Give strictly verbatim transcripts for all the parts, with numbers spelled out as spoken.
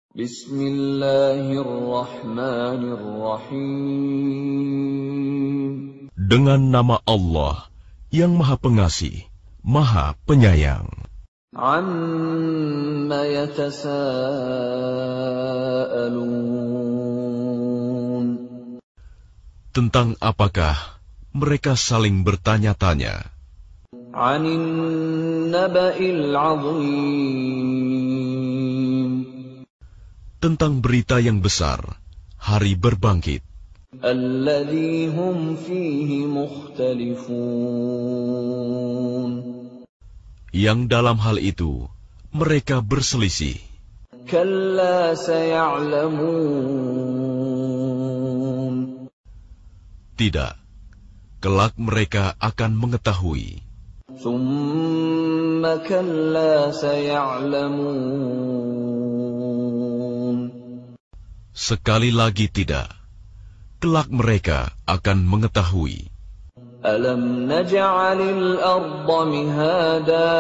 Bismillahirrahmanirrahim. Dengan nama Allah yang Maha Pengasih, Maha Penyayang. Amma yatasaalun. Tentang apakah mereka saling bertanya-tanya? Anin naba'il 'azim. Tentang berita yang besar, hari berbangkit. Alladzi hum fihi mukhtalifun. Yang dalam hal itu mereka berselisih. Kalla saya'lamun. Tidak, kelak mereka akan mengetahui. Tsumma kalla saya'lamun. Sekali lagi tidak, kelak mereka akan mengetahui. Alam naj'alil arda mihada.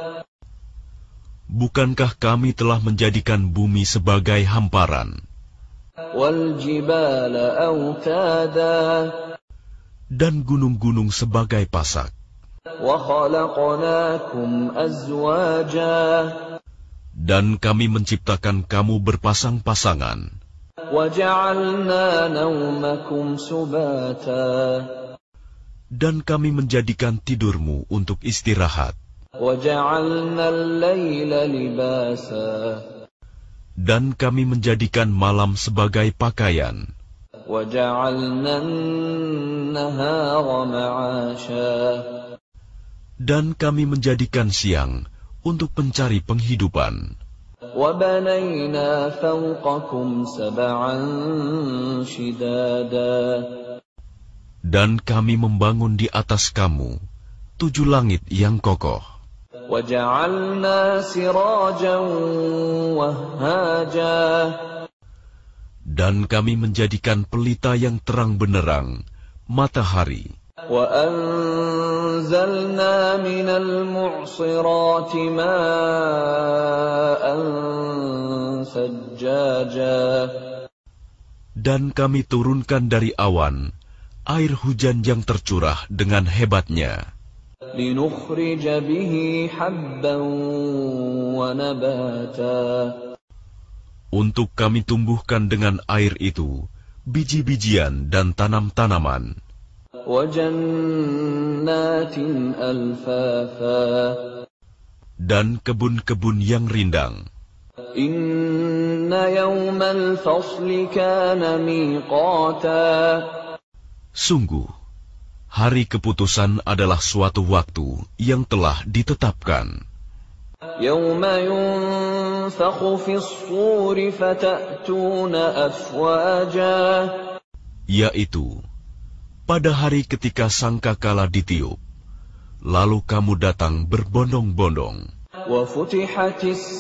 Bukankah kami telah menjadikan bumi sebagai hamparan? Wal jibala autada. Dan gunung-gunung sebagai pasak. Wa khalaqnakum azwaja. Dan kami menciptakan kamu berpasang-pasangan. Wa ja'alna nawmakum subata. Dan kami menjadikan tidurmu untuk istirahat. Wa ja'alna al-laila libasa. Dan kami menjadikan malam sebagai pakaian. وَجَعَلْنَا النَّهَارَ مَعَاشًا. Dan kami menjadikan siang untuk mencari penghidupan. وَبَنَيْنَا فَوْقَكُمْ سَبْعًا شِدَادًا. Dan kami membangun di atas kamu tujuh langit yang kokoh. وَجَعَلْنَا سِرَاجًا وَهَّاجًا. Dan kami menjadikan pelita yang terang benderang, matahari. وَأَنزَلْنَا مِنَ الْمُعْصِرَاتِ مَاءً ثَجَّاجًا. Dan kami turunkan dari awan air hujan yang tercurah dengan hebatnya. لِنُخْرِجَ بِهِ حَبًّا وَنَبَاتًا. Untuk kami tumbuhkan dengan air itu biji-bijian dan tanam-tanaman. وَجَنَّاتٍ أَلْفَافًا. Dan kebun-kebun yang rindang. إِنَّ يَوْمَ الْفَصْلِ كَانَ مِيقَاتًا. Sungguh, hari keputusan adalah suatu waktu yang telah ditetapkan. يَوْمَ يُنفَخُ فِي الصُّورِ فَتَأْتُونَ أَفْوَاجًا. Yaitu, pada hari ketika sangkakala ditiup, lalu kamu datang berbondong-bondong. وَفُتِحَتِ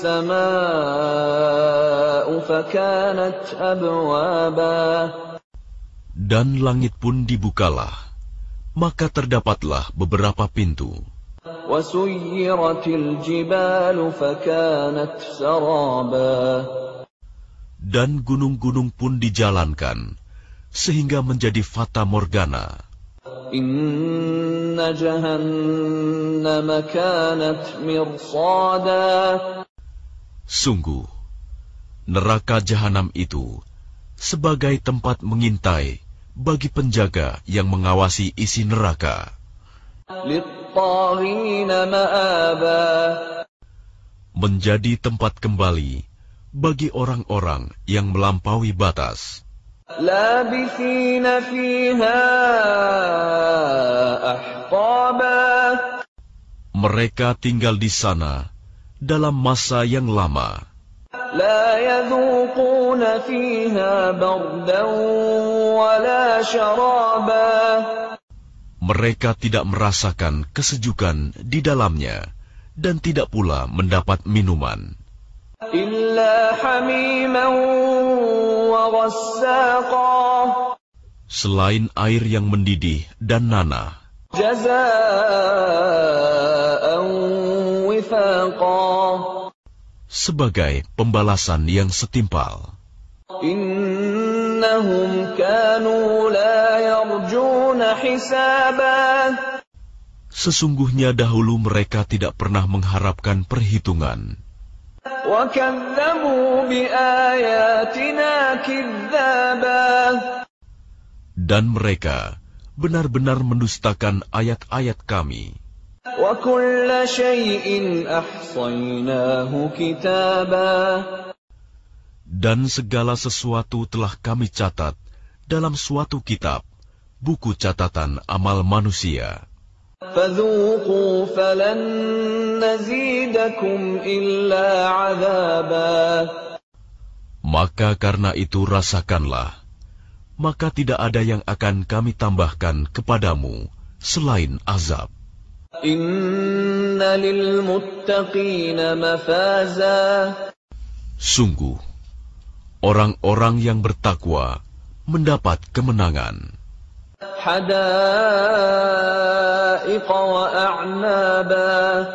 السَّمَاءُ فَكَانَتْ أَبْوَابًا. Dan langit pun dibukalah, maka terdapatlah beberapa pintu. وَسُيِّرَتِ الْجِبَالُ فَكَانَتْ سَرَابًا. Dan gunung-gunung pun dijalankan, sehingga menjadi fata morgana. إِنَّ جَهَنَّمَ كَانَتْ مِرْصَادًا. Sungguh, neraka jahanam itu sebagai tempat mengintai bagi penjaga yang mengawasi isi neraka. لِلطَّاغِينَ مَآبًا. Menjadi tempat kembali bagi orang-orang yang melampaui batas. لَابِثِينَ فِيهَا أَحْقَابًا. Mereka tinggal di sana dalam masa yang lama. لَا يَذُوقُونَ فِيهَا بَرْدًا وَلَا شَرَابًا. Mereka tidak merasakan kesejukan di dalamnya dan tidak pula mendapat minuman. إِلَّا حَمِيمًا وَغَسَّاقًا. Selain air yang mendidih dan nanah. جَزَاءً وِفَاقًا. sebagai pembalasan yang setimpal. Innahum kanu la yarjuna hisaba. Sesungguhnya dahulu mereka tidak pernah mengharapkan perhitungan. Wa kadzabu bi ayatina kidzaba. Dan mereka benar-benar mendustakan ayat-ayat kami. Wa kulla syai'in ahsaynahu kitaba. Dan segala sesuatu telah kami catat dalam suatu kitab, buku catatan amal manusia. Fadzuqu falan nazidakum illa 'adzaba. Maka karena itu rasakanlah, maka tidak ada yang akan kami tambahkan kepadamu selain azab. Inna lil muttaqina mafaza. Sungguh, orang-orang yang bertakwa mendapat kemenangan. Hadaiqa wa a'naba.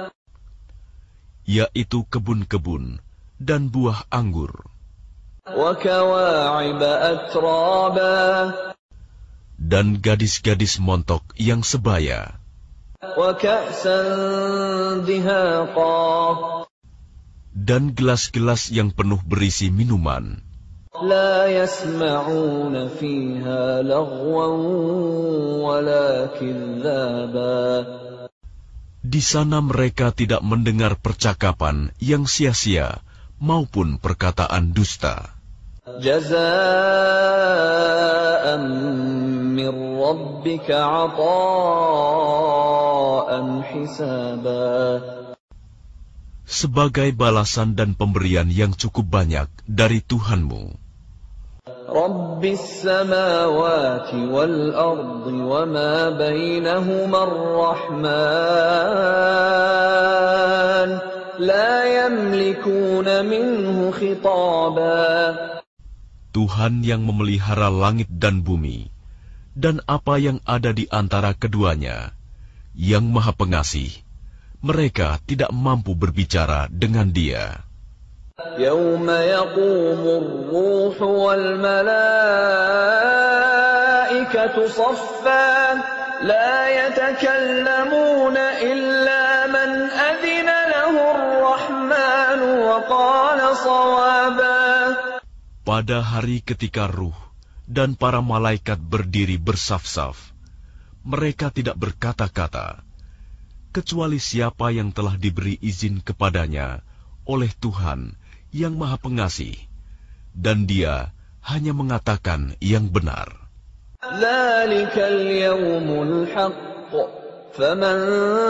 Yaitu kebun-kebun dan buah anggur. Wa kawa'iba atraba. Dan gadis-gadis montok yang sebaya. Wa ka'san dihaqa. Dan gelas-gelas yang penuh berisi minuman. La yasma'una fiha laghwan wala kidzaba. Di sana mereka tidak mendengar percakapan yang sia-sia maupun perkataan dusta. Jazaa'an min rabbika 'ataa'an hisaba. Sebagai balasan dan pemberian yang cukup banyak dari Tuhanmu. Rabbis samawati wal ardi wa ma bainahuma ar-Rahman la yamlikuna minhu khitaba. Tuhan yang memelihara langit dan bumi dan apa yang ada di antara keduanya, yang Maha Pengasih, mereka tidak mampu berbicara dengan Dia. Yawma yaqumur ruhu wal malaikatu saffan la yatakallamuna illa man adhina lahu ar-Rahman wa qala shawaba. Pada hari ketika ruh dan para malaikat berdiri bersaf-saf, mereka tidak berkata-kata, kecuali siapa yang telah diberi izin kepadanya oleh Tuhan yang Maha Pengasih, dan Dia hanya mengatakan yang benar. Dzalikal yawmul haqq, faman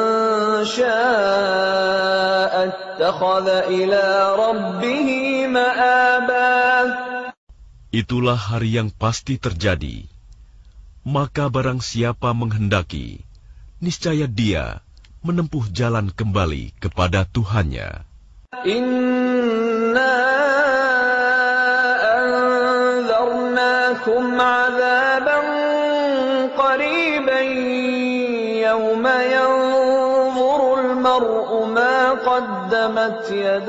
syaa'a ittakhadha ila rabbih ma'aba. Itulah hari yang pasti terjadi. Maka barang siapa menghendaki, niscaya dia menempuh jalan kembali kepada Tuhannya. Inna anzarnakum 'adzaban qariban yawma yanzuru al-mar'u ma qaddamat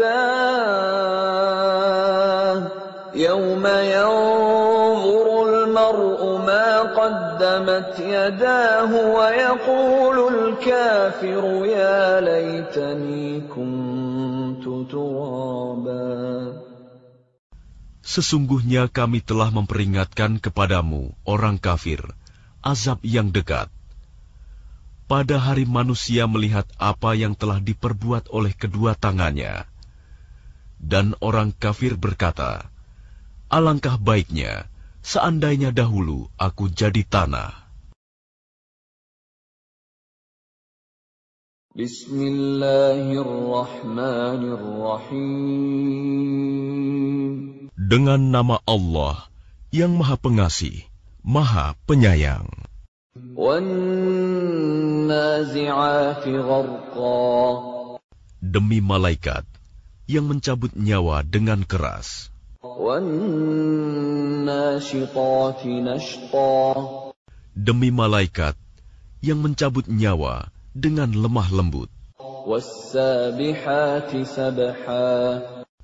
yadahu yawma yanzuru al-mar'u ma qaddamat yadahu wa yaqulu al-kafiru ya laytani kuntu turaba. Sesungguhnya kami telah memperingatkan kepadamu, orang kafir, azab yang dekat. Pada hari manusia melihat apa yang telah diperbuat oleh kedua tangannya. Dan orang kafir berkata, alangkah baiknya seandainya dahulu aku jadi tanah. Bismillahirrahmanirrahim. Dengan nama Allah yang Maha Pengasih, Maha Penyayang. Wan-nazi'ati gharqa. Demi malaikat yang mencabut nyawa dengan keras. Wan-nashitati nashta. Demi malaikat yang mencabut nyawa dengan lemah lembut. Was-sabihati sabha.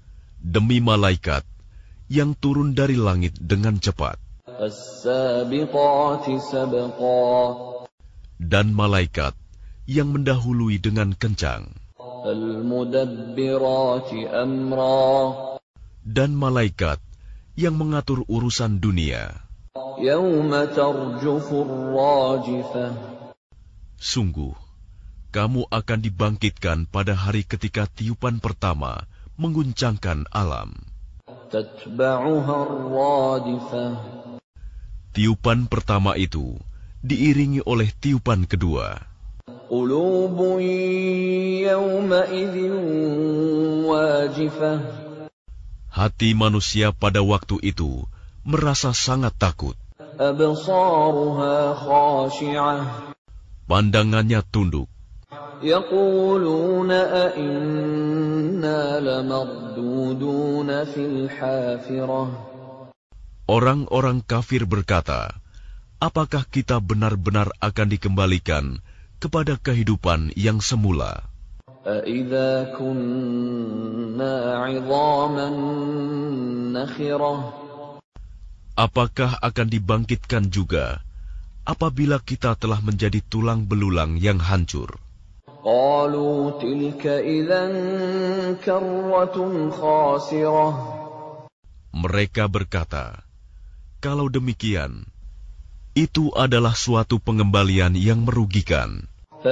demi malaikat yang turun dari langit dengan cepat, فالسابقات سبقا dan malaikat yang mendahului dengan kencang, فالمدبرات أمرا dan malaikat yang mengatur urusan dunia. يوم ترجف الراجفة Sungguh, kamu akan dibangkitkan pada hari ketika tiupan pertama mengguncangkan alam. تتبعها الرادفة Tiupan pertama itu diiringi oleh tiupan kedua. قلوب يومئذ واجفة Hati manusia pada waktu itu merasa sangat takut. أبصارها خاشعة Pandangannya tunduk. يقولون أئنا لمردودون في الحافرة Orang-orang kafir berkata, apakah kita benar-benar akan dikembalikan kepada kehidupan yang semula? أَإِذَا كُنَّا عِظَامًا نَخِرَةً Apakah akan dibangkitkan juga apabila kita telah menjadi tulang belulang yang hancur? قَالُوا تِلْكَ إِذًا كَرَّةٌ خَاسِرَةٌ Mereka berkata, kalau demikian, itu adalah suatu pengembalian yang merugikan.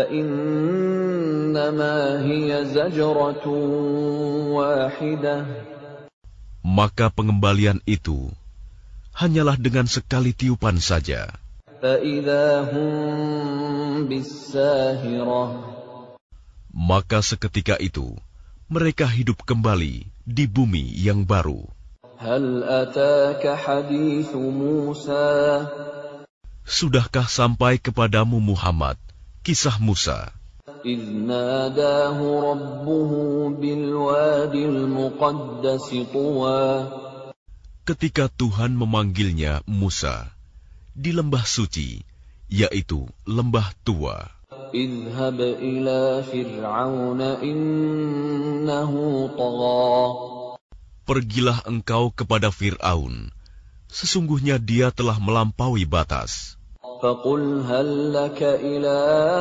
فَإِنَّمَا هِيَ زَجْرَةٌ وَاحِدَةٌ Maka pengembalian itu hanyalah dengan sekali tiupan saja. فَإِذَا هُمْ بِالسَّاهِرَةِ Maka seketika itu, mereka hidup kembali di bumi yang baru. هَلْ أَتَاكَ حَدِيثُ مُوسَى Sudahkah sampai kepadamu Muhammad kisah Musa, إِذْ نَادَاهُ رَبُّهُ بِالْوَادِ الْمُقَدَّسِ طُوًى ketika Tuhan memanggilnya Musa di lembah suci, yaitu lembah tua. اذهب إلى فرعون إنه طغى Pergilah engkau kepada Fir'aun, sesungguhnya dia telah melampaui batas. فقل هل لك إلى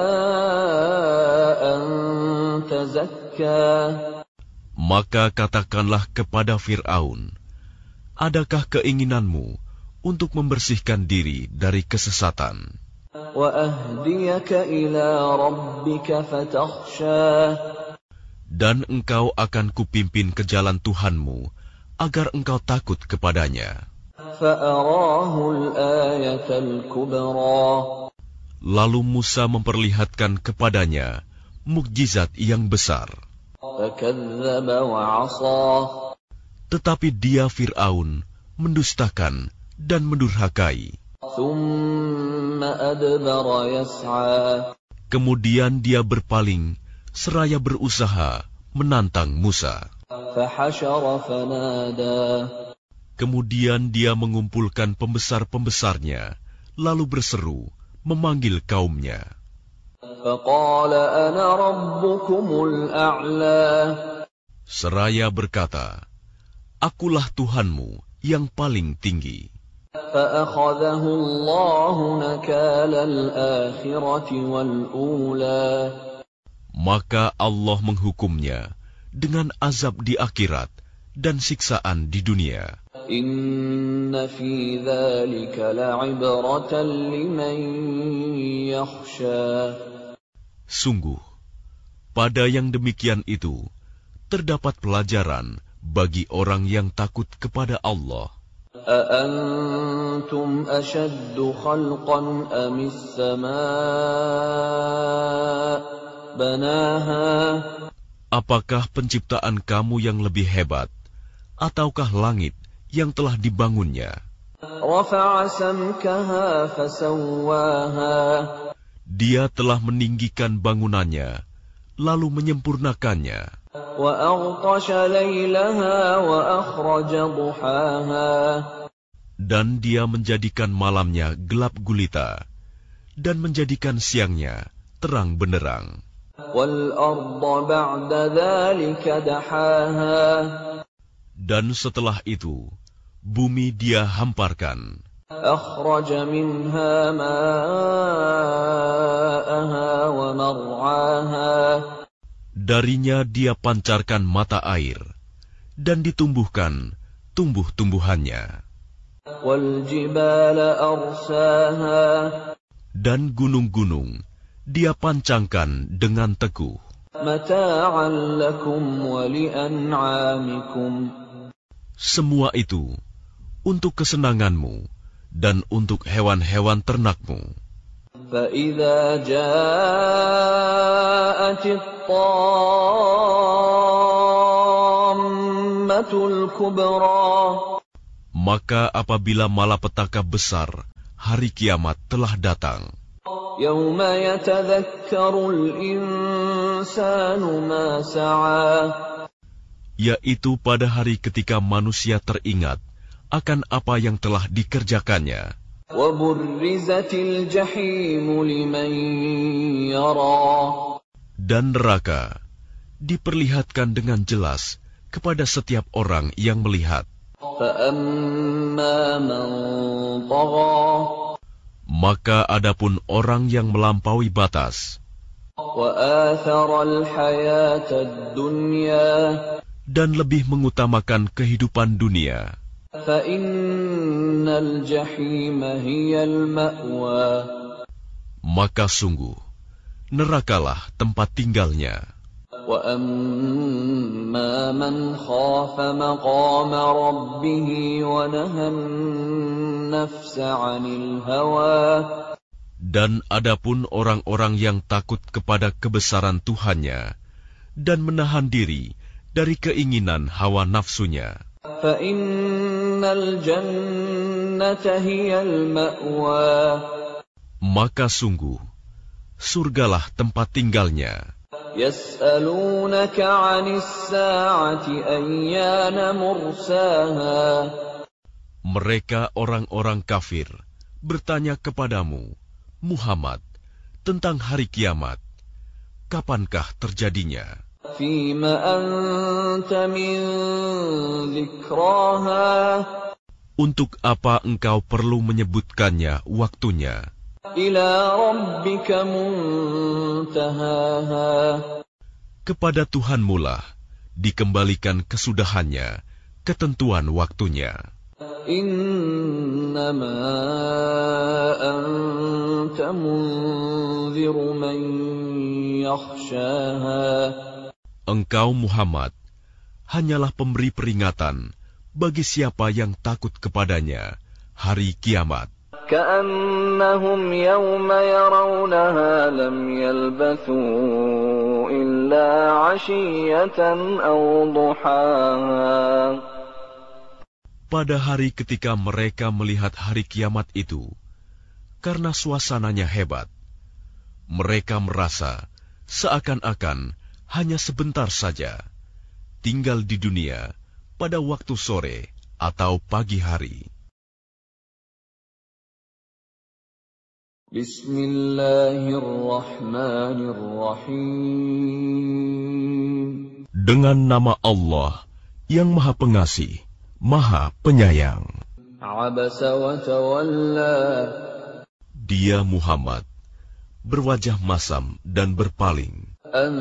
أن تزكى Maka katakanlah kepada Fir'aun, adakah keinginanmu untuk membersihkan diri dari kesesatan? وأهديك إلى ربك فتخشى Dan engkau akan kupimpin ke jalan Tuhanmu, agar engkau takut kepadanya. فأراه الآية الكبرى Lalu Musa memperlihatkan kepadanya mukjizat yang besar. فكذب وعصى Tetapi dia Fir'aun mendustakan dan mendurhakai. ثم أدبر يسعى Kemudian dia berpaling seraya berusaha menantang Musa. فحشر فنادى Kemudian dia mengumpulkan pembesar-pembesarnya, lalu berseru, memanggil kaumnya. فقال أنا ربكم الأعلى Seraya berkata, akulah Tuhanmu yang paling tinggi. فأخذه الله نكال الآخرة والأولى Maka Allah menghukumnya dengan azab di akhirat dan siksaan di dunia. إن في ذلك لعبرة لمن يخشى Sungguh, pada yang demikian itu, terdapat pelajaran bagi orang yang takut kepada Allah. أأنتم أشد خلقا أم السماء بناها Apakah penciptaan kamu yang lebih hebat, ataukah langit yang telah dibangunnya? رفع سمكها فسواها Dia telah meninggikan bangunannya, lalu menyempurnakannya. وأغطش ليلها وأخرج ضحاها Dan dia menjadikan malamnya gelap gulita, dan menjadikan siangnya terang benderang. والأرض بعد ذلك دحاها Dan setelah itu, bumi Dia hamparkan. أخرج منها ماءها ومرعاها. Darinya Dia pancarkan mata air, dan ditumbuhkan tumbuh-tumbuhannya. وَالْجِبَالَ أَرْسَاهَا. Dan gunung-gunung Dia pancangkan dengan teguh. مَتَاعًا لَكُمْ وَلِأَنْعَامِكُمْ. Semua itu untuk kesenanganmu dan untuk hewan-hewan ternakmu. فَإِذَا جَاءَتِ الطَّامَّةُ الْكُبْرَى. Maka apabila malapetaka besar, hari kiamat telah datang. يَوْمَ يَتَذَكَّرُ الْإِنسَانُ مَا سَعَى. Yaitu pada hari ketika manusia teringat akan apa yang telah dikerjakannya. وَبُرِّزَتِ الْجَحِيمُ لِمَنْ يَرَى. Dan neraka diperlihatkan dengan jelas kepada setiap orang yang melihat. فَأَمَّا مَنْ طَغَى. Maka adapun orang yang melampaui batas وَآثَرَ الْحَيَاةَ الدُّنْيَا. dan lebih mengutamakan kehidupan dunia, فَإِنَّ الْجَحِيمَ هِيَ الْمَأْوَى. maka sungguh nerakalah tempat tinggalnya. وَأَمَّا مَنْ خَافَ مَقَامَ رَبِّهِ وَنَهَى النَّفْسَ عَنِ الْهَوَى. Dan adapun orang-orang yang takut kepada kebesaran Tuhannya dan menahan diri dari keinginan hawa nafsunya, فَإِنَّ الْجَنَّةَ هِيَ الْمَأْوَى. maka sungguh surgalah tempat tinggalnya. يَسْأَلُونَكَ عَنِ السَّاعَةِ أَيَّانَ مُرْسَاهَا. Mereka orang-orang kafir bertanya kepadamu, Muhammad, tentang hari kiamat, kapankah terjadinya? فِيمَ أَنْتَ مِنْ ذِكْرَاهَا. Untuk apa engkau perlu menyebutkannya waktunya? إِلَى رَبِّكَ مُنْتَهَاهَا. Kepada Tuhanmulah dikembalikan kesudahannya, ketentuan waktunya. إِنَّمَا أَنْتَ مُنْذِرُ مَنْ يَخْشَاهَا. Engkau Muhammad hanyalah pemberi peringatan bagi siapa yang takut kepadanya hari kiamat. كَأَنَّهُمْ يَوْمَ يَرَوْنَهَا لَمْ يَلْبَثُوا إِلَّا عَشِيَّةً أَوْ ضُحَاهَا. Pada hari ketika mereka melihat hari kiamat itu, karena suasananya hebat, mereka merasa seakan-akan hanya sebentar saja tinggal di dunia pada waktu sore atau pagi hari. Bismillahirrahmanirrahim. Dengan nama Allah yang Maha Pengasih, Maha Penyayang. Abasa wa tawalla. Dia Muhammad berwajah masam dan berpaling. An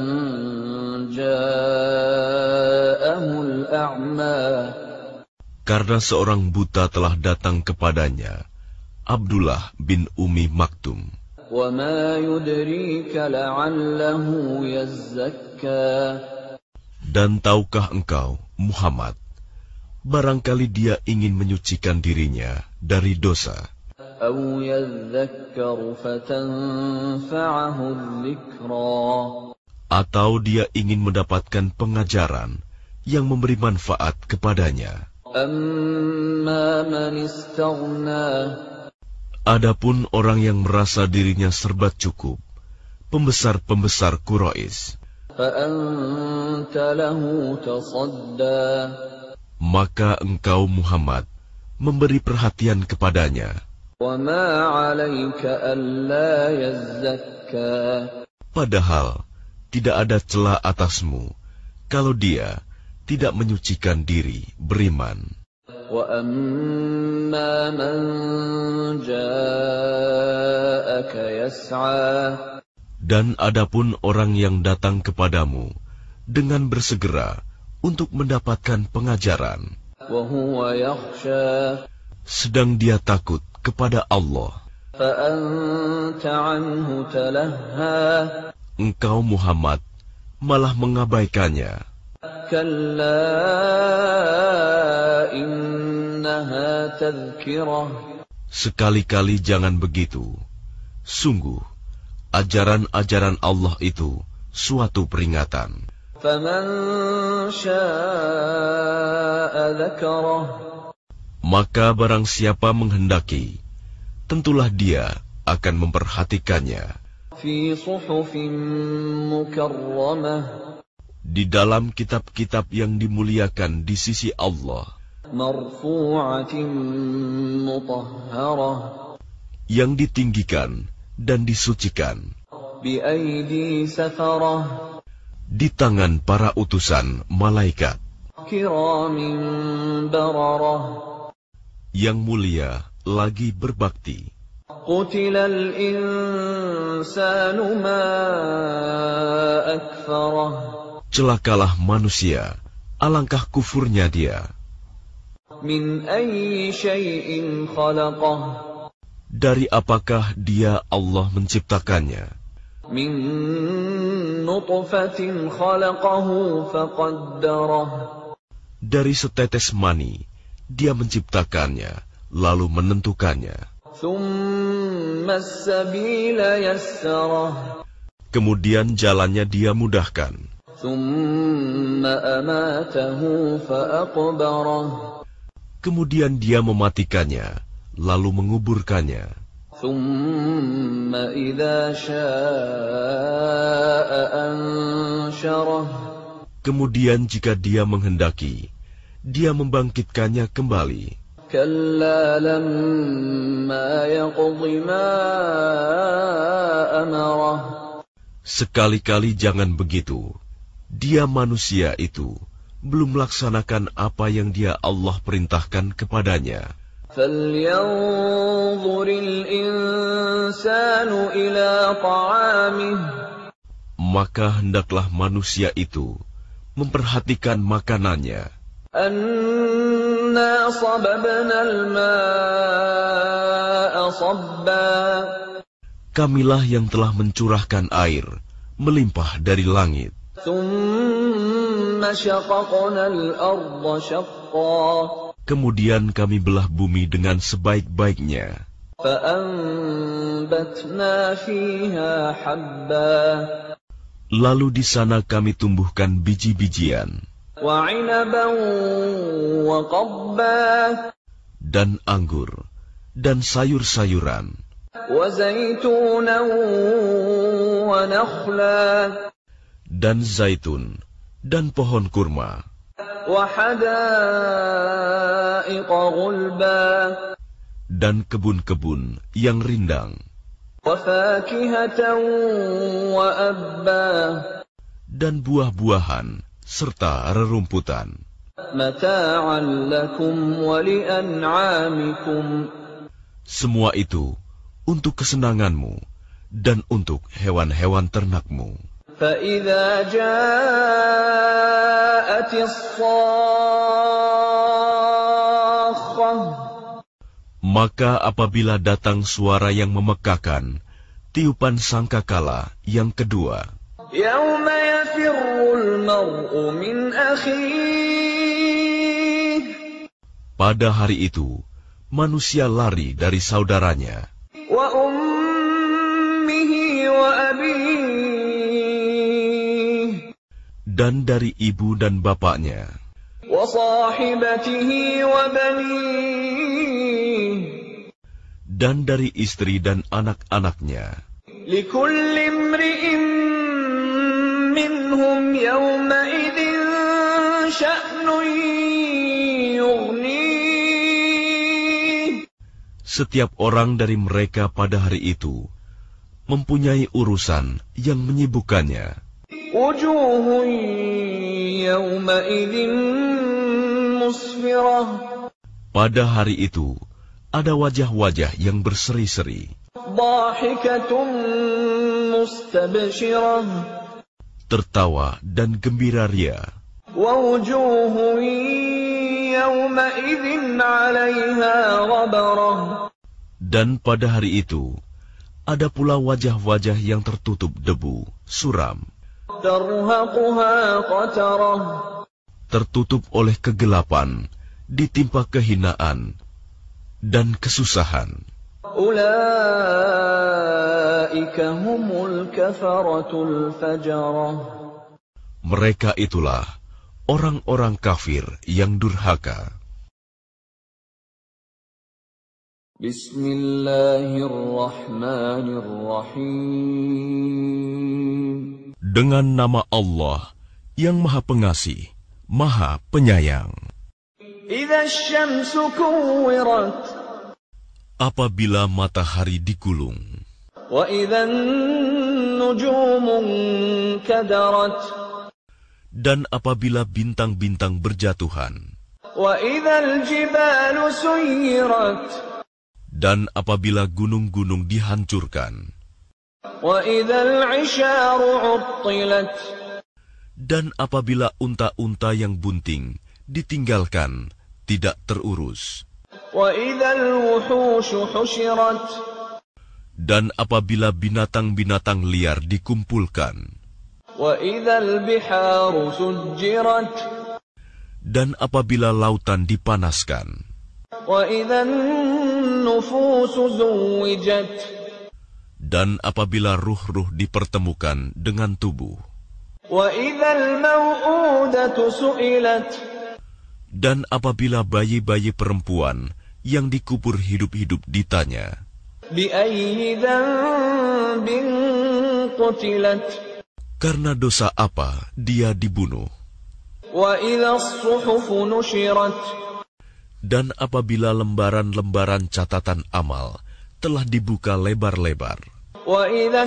ja'ahul a'ma. Karena seorang buta telah datang kepadanya, Abdullah bin Umi Maktum. Wa ma yudrika la'allahu yazzakka. Dan tahukah engkau, Muhammad, barangkali dia ingin menyucikan dirinya dari dosa. Aw yadhakkaru fatanfa'ahu dzikra. Atau dia ingin mendapatkan pengajaran yang memberi manfaat kepadanya. Amma man istaghna. Adapun orang yang merasa dirinya serba cukup, pembesar-pembesar Quraisy, fa anta lahu tasadda. maka engkau Muhammad memberi perhatian kepadanya. Wa ma 'alaika alla yazzakka. Padahal tidak ada celah atasmu kalau dia tidak menyucikan diri, beriman. وَأَمَّا مَنْ جَاءَكَ يَسْعَى Dan adapun orang yang datang kepadamu dengan bersegera untuk mendapatkan pengajaran, وَهُوَ يَخْشَى sedang dia takut kepada Allah, فَأَنْتَ عَنْهُ تَلَهَّى engkau Muhammad malah mengabaikannya. كَلَّا إِنَّهَا تَذْكِرَةٌ Sekali-kali jangan begitu. Sungguh, ajaran-ajaran Allah itu suatu peringatan. فَمَنْ شَاءَ ذَكَرَهُ Maka barang siapa menghendaki, tentulah dia akan memperhatikannya فِي صُحُفٍ مُكَرَّمَةٍ di dalam kitab-kitab yang dimuliakan di sisi Allah, مَرْفُوعَةٍ مُطَهَّرَةٍ yang ditinggikan dan disucikan بِأَيْدِي سَفَرَةٍ di tangan para utusan malaikat كِرَامٍ بَرَرَةٍ yang mulia lagi berbakti. قُتِلَ الْإِنسَانُ مَا أَكْفَرَهُ Celakalah manusia, alangkah kufurnya dia. مِنْ أَيِّ شَيْءٍ خَلَقَهُ Dari apakah dia Allah menciptakannya? مِنْ نُطْفَةٍ خَلَقَهُ فَقَدَّرَهُ Dari setetes mani, dia menciptakannya, lalu menentukannya. ثُمَّ السَّبِيلَ يَسَّرَهُ Kemudian jalannya dia mudahkan. ثُمَّ أَمَاتَهُ فَأَقْبَرَهُ Kemudian dia mematikannya, lalu menguburkannya. ثُمَّ إِذَا شَاءَ أَنشَرَهُ Kemudian jika dia menghendaki, dia membangkitkannya kembali. كَلَّا لَمَّا يَقْضِ مَا أَمَرَهُ Sekali-kali jangan begitu. Dia manusia itu belum melaksanakan apa yang dia Allah perintahkan kepadanya. فَلْيَنْظُرِ الْإِنسَانُ إِلَى طَعَامِهِ Maka hendaklah manusia itu memperhatikan makanannya. أَنَّا صَبَبْنَا الْمَاءَ صَبًّا Kamilah yang telah mencurahkan air melimpah dari langit. ثُمَّ شَقَقْنَا الْأَرْضَ شَقًّا Kemudian kami belah bumi dengan sebaik-baiknya. فَأَنبَتْنَا فِيهَا حَبًّا Lalu di sana kami tumbuhkan biji-bijian وَعِنَبًا وَقَضْبًا dan anggur dan sayur-sayuran وَزَيْتُونًا وَنَخْلًا dan zaitun dan pohon kurma وَحَدَائِقَ غُلْبًا dan kebun-kebun yang rindang وَفَاكِهَةً وَأَبًّا dan buah-buahan serta rerumputan. مَتَاعًا لَكُمْ وَلِأَنْعَامِكُمْ Semua itu untuk kesenanganmu dan untuk hewan-hewan ternakmu. فَإِذَا جَاءَتِ الصَّاخَّةُ Maka apabila datang suara yang memekakan, tiupan sangkakala yang kedua, يَوْمَ يَفِرُّ الْمَرْءُ مِنْ أَخِيهِ pada hari itu manusia lari dari saudaranya وَأُمِّهِ وَأَبِيهِ dan dari ibu dan bapaknya وَصَاحِبَتِهِ وَبَنِيهِ dan dari istri dan anak-anaknya. لِكُلِّ امْرِئٍ مِّنْهُمْ يَوْمَئِذٍ شَأْنٌ يُغْنِيهِ Setiap orang dari mereka pada hari itu mempunyai urusan yang menyibukkannya. وجوه يومئذ مسفرة. Pada hari itu, ada wajah-wajah yang berseri-seri, ضاحكة مستبشرة. tertawa dan gembira ria. ووجوه يومئذ عليها غبرة. Dan pada hari itu, ada pula wajah-wajah yang tertutup debu, suram, ترهقها قترة. tertutup oleh kegelapan, ditimpa kehinaan dan kesusahan. أولئك هم الكفرة الفجرة. Mereka itulah orang-orang kafir yang durhaka. Bismillahirrahmanirrahim. Dengan nama Allah yang Maha Pengasih, Maha Penyayang. Idza asy-syamsu kuwirat. Apabila matahari digulung, wa idza an-nujumu kadarat. Dan apabila bintang-bintang berjatuhan, wa idza al-jibalu suyirat. Dan apabila gunung-gunung dihancurkan, wa idza al-'isharu 'uttilat. Dan apabila unta-unta yang bunting ditinggalkan, tidak terurus. وَإِذَا الْوُحُوشُ حُشِرَتْ. Dan apabila binatang-binatang liar dikumpulkan, وَإِذَا الْبِحَارُ سُجِّرَتْ. dan apabila lautan dipanaskan, وَإِذَا النُّفُوسُ زُوِّجَتْ. dan apabila ruh-ruh dipertemukan dengan tubuh, وَإِذَا الْمَوْءُودَةُ سُئِلَتْ. dan apabila bayi-bayi perempuan yang dikubur hidup-hidup ditanya, بِأَيِّ ذَنبٍ قُتِلَتْ. karena dosa apa dia dibunuh, وَإِذَا الصُّحُفُ نُشِرَتْ. dan apabila lembaran-lembaran catatan amal telah dibuka lebar-lebar, وَإِذَا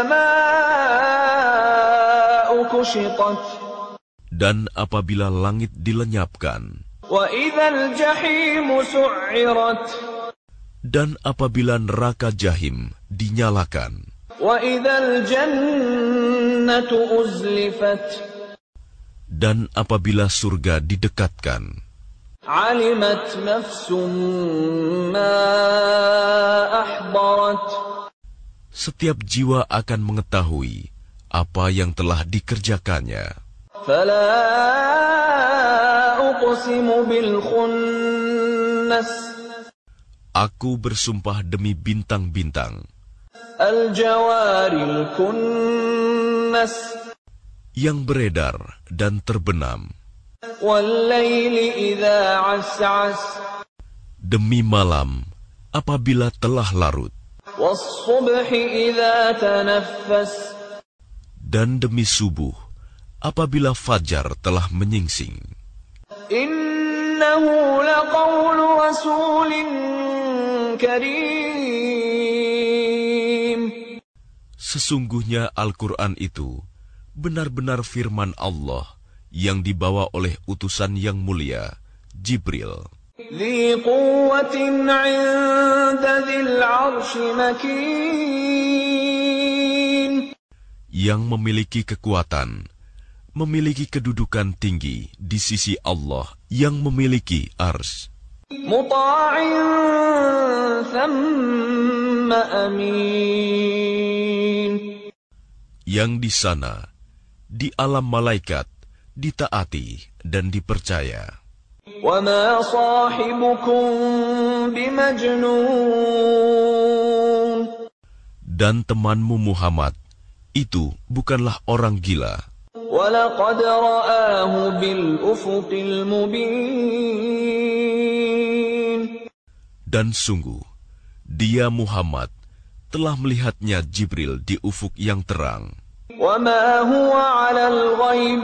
السَّمَاءُ كُشِطَتْ. dan apabila langit dilenyapkan, وَإِذَا الْجَحِيمُ سُعِّرَتْ. dan apabila neraka jahim dinyalakan, وَإِذَا الْجَنَّةُ أُزْلِفَتْ. dan apabila surga didekatkan, عَلِمَتْ نَفْسٌ مَّا أَحْضَرَتْ. setiap jiwa akan mengetahui apa yang telah dikerjakannya. فَلَا أُقْسِمُ بِالْخُنَّسِ. Aku bersumpah demi bintang-bintang, الْجَوَارِ الْكُنَّسِ. yang beredar dan terbenam, وَاللَّيْلِ إِذَا عَسْعَسَ. demi malam apabila telah larut, وَالصُّبْحِ إِذَا تَنَفَّسَ. dan demi subuh apabila fajar telah menyingsing. إِنَّهُ لَقَوْلُ رَسُولٍ كَرِيمٍ. Sesungguhnya Al-Quran itu benar-benar firman Allah yang dibawa oleh utusan yang mulia, Jibril. ذِي قُوَّةٍ عِندَ ذِي الْعَرْشِ مَكِينٍ. Yang memiliki kekuatan, memiliki kedudukan tinggi di sisi Allah yang memiliki ars. مُطَاعٍ ثَمَّ أَمِينٍ. Yang di sana, di alam malaikat, ditaati dan dipercaya. وَمَا صَاحِبُكُم بِمَجْنُونٍ. Dan temanmu Muhammad itu bukanlah orang gila. وَلَقَدْ رَآهُ بِالْأُفُقِ الْمُبِينِ. Dan sungguh, dia Muhammad telah melihatnya Jibril di ufuk yang terang. وَمَا هُوَ عَلَى الْغَيْبِ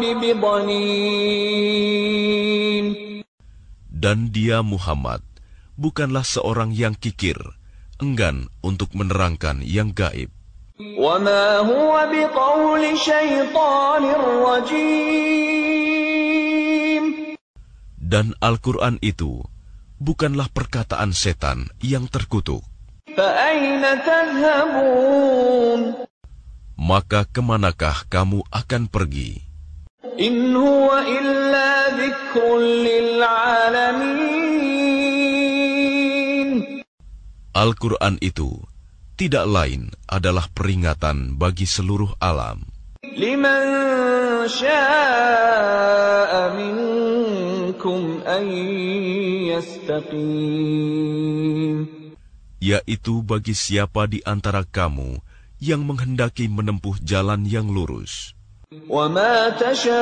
بِضَنِينٍ. Dan dia Muhammad bukanlah seorang yang kikir, enggan untuk menerangkan yang gaib. وما هو بقول شيطان رجيم. Dan Al-Quran itu bukanlah perkataan setan yang terkutuk. فأين تذهبون. Maka kemanakah kamu akan pergi? إن هو إلا ذكر للعالمين. Al-Quran itu tidak lain adalah peringatan bagi seluruh alam. لمن شاء منكم أن يستقيم. Yaitu bagi siapa di antara kamu yang menghendaki menempuh jalan yang lurus. وَمَا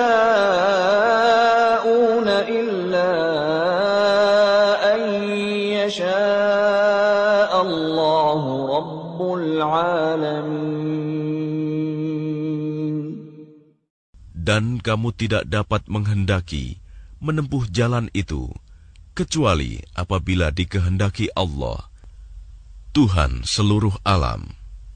تَشَاءُونَ إِلَّا أَن يَشَاءَ اللَّهُ رَبُّ الْعَالَمِينَ. Dan kamu tidak dapat menghendaki menempuh jalan itu, kecuali apabila dikehendaki Allah, Tuhan seluruh alam.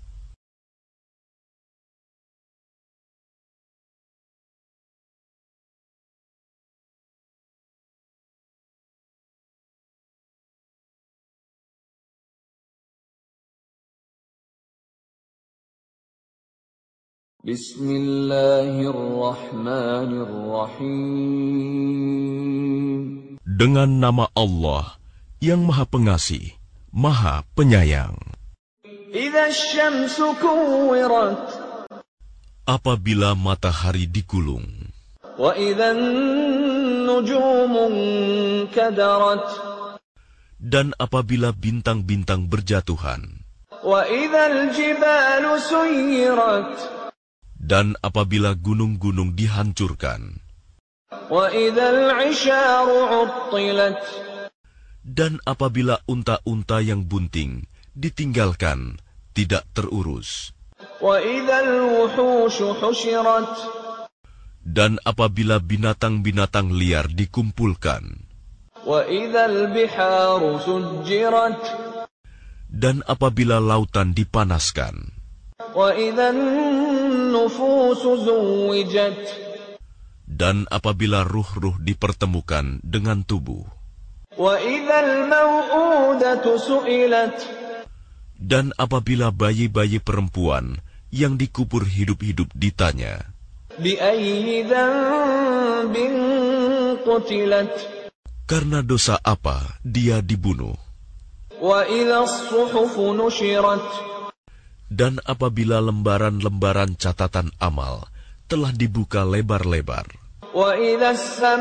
Bismillahirrahmanirrahim. Dengan nama Allah yang Maha Pengasih, Maha Penyayang. Idza asy-syamsu kuwirat. Apabila matahari digulung. Wa idzan nujumu kadarat. Dan apabila bintang-bintang berjatuhan. Wa idzal jibalu suyirat. Dan apabila gunung-gunung dihancurkan. Wa idzal 'isharu 'uttilat. Dan apabila unta-unta yang bunting ditinggalkan, tidak terurus. Wa idzal wuhushu husyirat. Dan apabila binatang-binatang liar dikumpulkan. Wa idzal biharu sujjirat. Dan apabila lautan dipanaskan. Wa idzan nufusu zuwijat. Dan apabila ruh-ruh dipertemukan dengan tubuh. Wa idzal mau'udatu su'ilat. Dan apabila bayi-bayi perempuan yang dikubur hidup-hidup ditanya. Bi ayyi dzanbin qutilat. Karena dosa apa dia dibunuh. Wa idzas suhufu nushirat. Dan apabila lembaran-lembaran catatan amal telah dibuka lebar-lebar. Wa idzas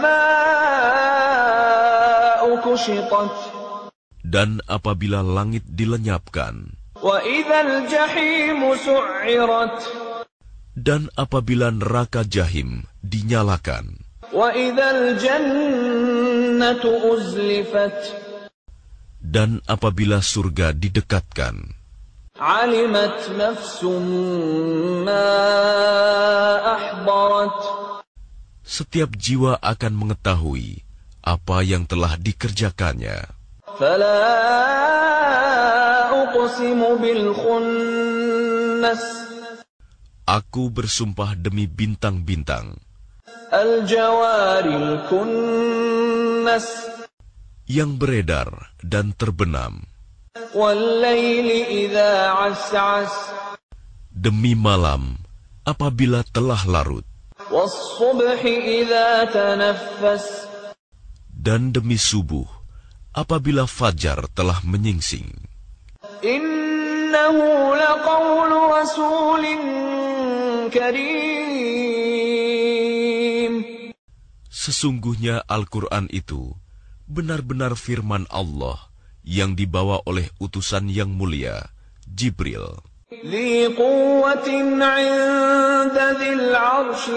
samaa'u kushitat. Dan apabila langit dilenyapkan. Wa idzal jahimu su'irat. Dan apabila neraka jahim dinyalakan. Wa idzal jannatu uzlifat. Dan apabila surga didekatkan. Alimat nafsum ma ahdarat. Setiap jiwa akan mengetahui apa yang telah dikerjakannya. Fala uqsimu bil khunnas. Aku bersumpah demi bintang-bintang. Al jawaril kunnas. Yang beredar dan terbenam. Wal-laili idza 'as'as. Demi malam apabila telah larut. Was-subhi idza tanaffas. Dan demi subuh apabila fajar telah menyingsing. Innahu laqawlu rasulin karim. Sesungguhnya Al-Quran itu benar-benar firman Allah yang dibawa oleh utusan yang mulia, Jibril. Dzi quwwatin 'inda dzil 'arsy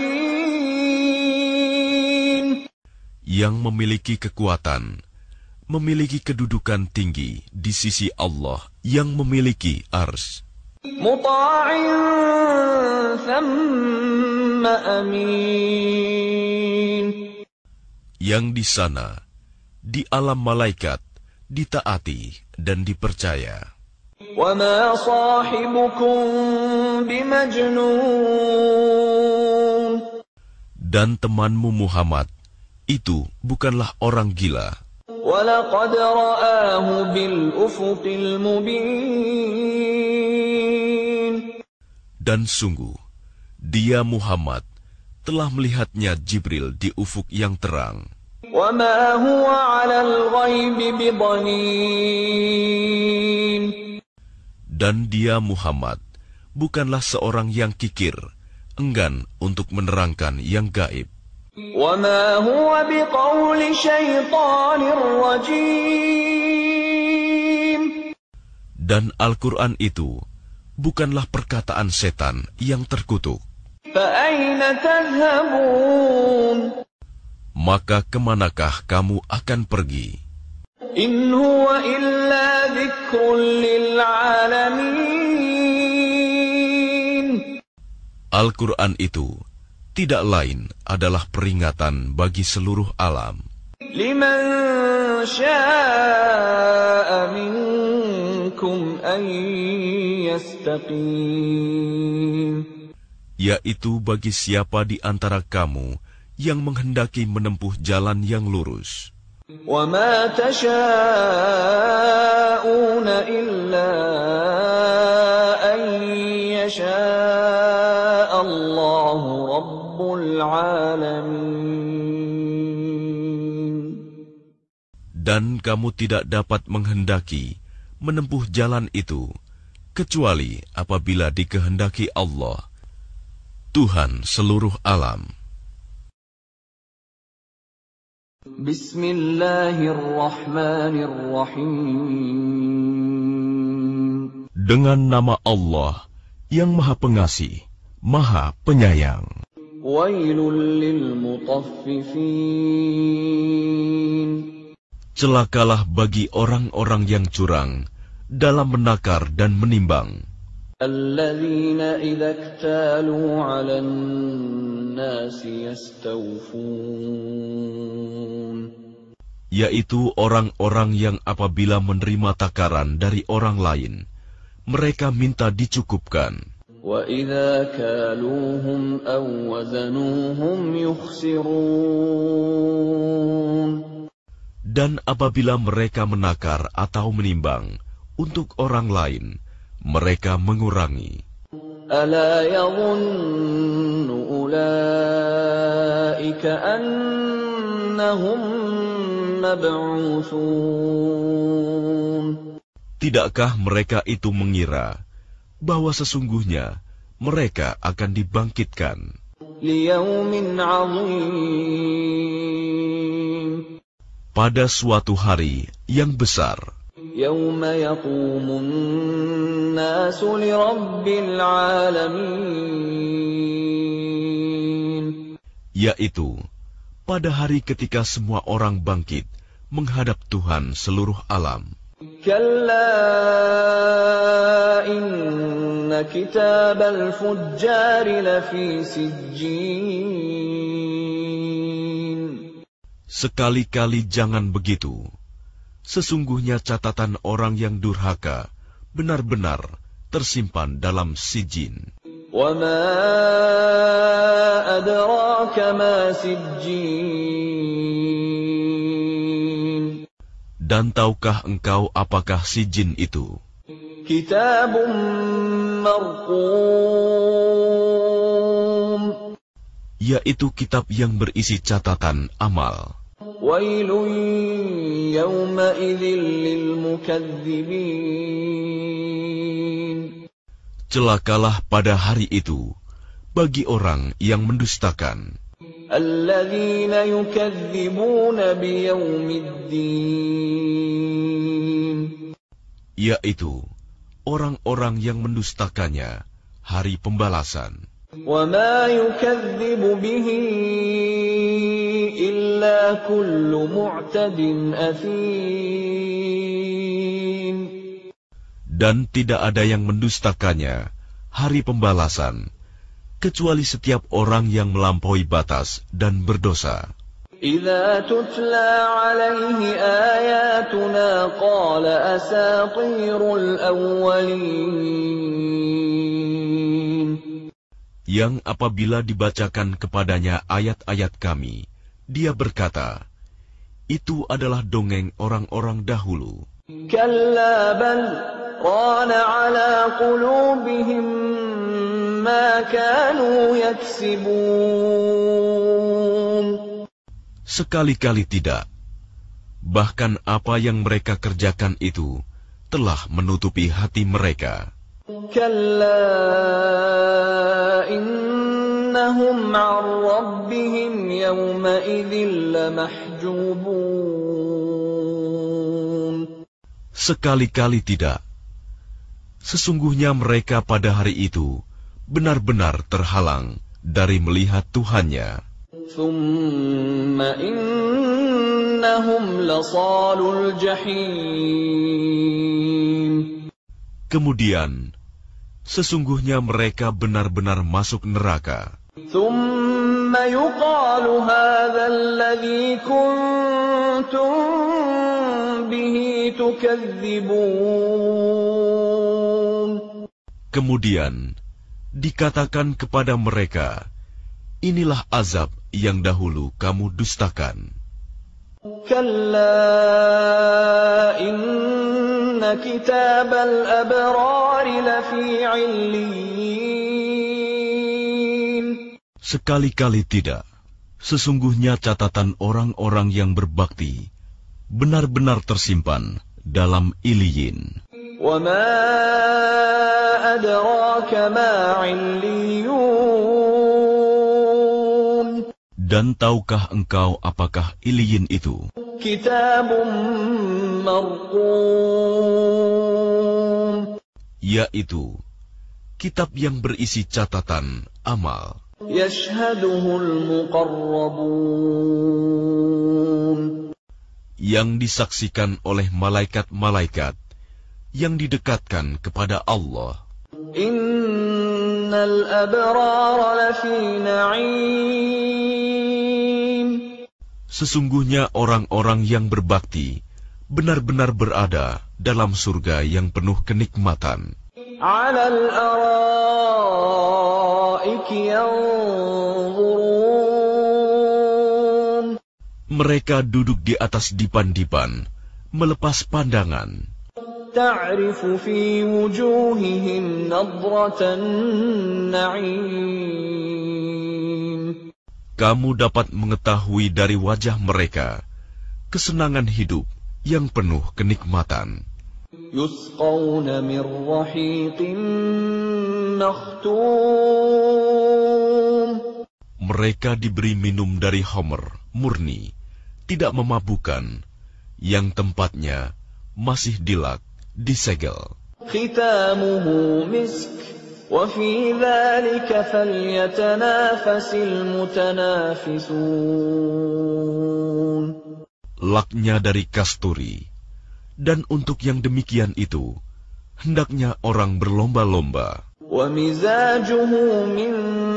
makin. Yang memiliki kekuatan, memiliki kedudukan tinggi di sisi Allah yang memiliki ars. Muta'in thamma amin. Yang di sana, di alam malaikat, ditaati dan dipercaya. وَمَا صَاحِبُكُم بِمَجْنُونٍ. Dan temanmu Muhammad itu bukanlah orang gila. وَلَقَدْ رَآهُ بِالْأُفُقِ الْمُبِينِ. Dan sungguh, dia Muhammad telah melihatnya Jibril di ufuk yang terang. وَمَا هُوَ عَلَى الْغَيْبِ بِضَنِينٍ. Dan dia Muhammad bukanlah seorang yang kikir, enggan untuk menerangkan yang gaib. وَمَا هُوَ بِقَوْلِ شَيْطَانٍ رَجِيمٍ. Dan Al-Quran itu bukanlah perkataan setan yang terkutuk. فَأَيْنَ تَذْهَبُونَ. Maka kemanakah kamu akan pergi? إِنْ هُوَ إِلَّا ذِكْرٌ لِلْعَالَمِينَ. Al-Quran itu tidak lain adalah peringatan bagi seluruh alam. لِمَنْ شَاءَ مِنْكُمْ أَنْ يَسْتَقِيمَ. Yaitu bagi siapa di antara kamu yang menghendaki menempuh jalan yang lurus. وَمَا تَشَاءُونَ إِلَّا أَنْ يَشَاءَ اللَّهُ رَبُّ الْعَالَمِينَ. Dan kamu tidak dapat menghendaki menempuh jalan itu, kecuali apabila dikehendaki Allah, Tuhan seluruh alam. Bismillahirrahmanirrahim. Dengan nama Allah yang Maha Pengasih, Maha Penyayang. Wailul lil mutaffifin. Celakalah bagi orang-orang yang curang dalam menakar dan menimbang. Alladzina idza iktalu 'alan nasi yastawfun. Yaitu orang-orang yang apabila menerima takaran dari orang lain, mereka minta dicukupkan. Wa idza kaluhum aw wazanuhum yukhsirun. Dan apabila mereka menakar atau menimbang untuk orang lain, mereka mengurangi. Ala yadhunnu ulaika annahum mab'utsun. Tidakkah mereka itu mengira bahwa sesungguhnya mereka akan dibangkitkan liyaumin 'azim, pada suatu hari yang besar, yauma yaqumun nasu lirabbil alamin, yaitu pada hari ketika semua orang bangkit menghadap Tuhan seluruh alam. Kalla inna kitabal fujjari lafi sijjin. Sekali-kali jangan begitu. Sesungguhnya catatan orang yang durhaka benar-benar tersimpan dalam sijin. Wa ma adraka ma sijjin. Dan tahukah engkau apakah sijin itu? Kitabun marqum. Yaitu kitab yang berisi catatan amal. Wailun yawma idzin lil mukadzibin. Celakalah pada hari itu bagi orang yang mendustakan. Alladzina yukadzibuna biyaumiddin. Yaitu orang-orang yang mendustakannya hari pembalasan. Wa ma yukadzibu bihi illa kullu mu'tadin athim. Dan tidak ada yang mendustakannya hari pembalasan kecuali setiap orang yang melampaui batas dan berdosa. إذا تتلى عليه آياتنا قال أساطير الأولين. Yang apabila dibacakan kepadanya ayat-ayat kami, dia berkata, itu adalah dongeng orang-orang dahulu. كلا بل ران على قلوبهم ما كانوا يكسبون. Sekali-kali tidak. Bahkan apa yang mereka kerjakan itu telah menutupi hati mereka. كلا إنهم عن ربهم يومئذ لمحجوبون. Sekali-kali tidak. Sesungguhnya mereka pada hari itu benar-benar terhalang dari melihat Tuhannya. ثم إنهم لصالو الجحيم. Kemudian, sesungguhnya mereka benar-benar masuk neraka. ثم يقال هذا الذي كنتم به تكذبون. Kemudian, dikatakan kepada mereka, inilah azab yang dahulu kamu dustakan. كلا إن كتاب الأبرار لفي عليين. Sekali-kali tidak. Sesungguhnya catatan orang-orang yang berbakti benar-benar tersimpan dalam Iliyin. وما أدراك ما عليون. Dan tahukah engkau apakah Iliyin itu? كتاب مرقوم. Yaitu kitab yang berisi catatan amal. يشهده المقربون. Yang disaksikan oleh malaikat-malaikat yang didekatkan kepada Allah. Innal abrara lafi na'im. Sesungguhnya orang-orang yang berbakti benar-benar berada dalam surga yang penuh kenikmatan. 'Alal araiki yanzurun. Mereka duduk di atas dipan-dipan, melepas pandangan. Ta'rifu fi wujuhihim nadratan na'im. Kamu dapat mengetahui dari wajah mereka kesenangan hidup yang penuh kenikmatan. Yusqawna min rahiqin makhtum. Mereka diberi minum dari homer murni, tidak memabukkan, yang tempatnya masih dilak, disegel. Khitamuhu misk, wa fi dhalika falyatanafasil mutanafisun. Laknya dari kasturi, dan untuk yang demikian itu, hendaknya orang berlomba-lomba. Wa mizajuhu min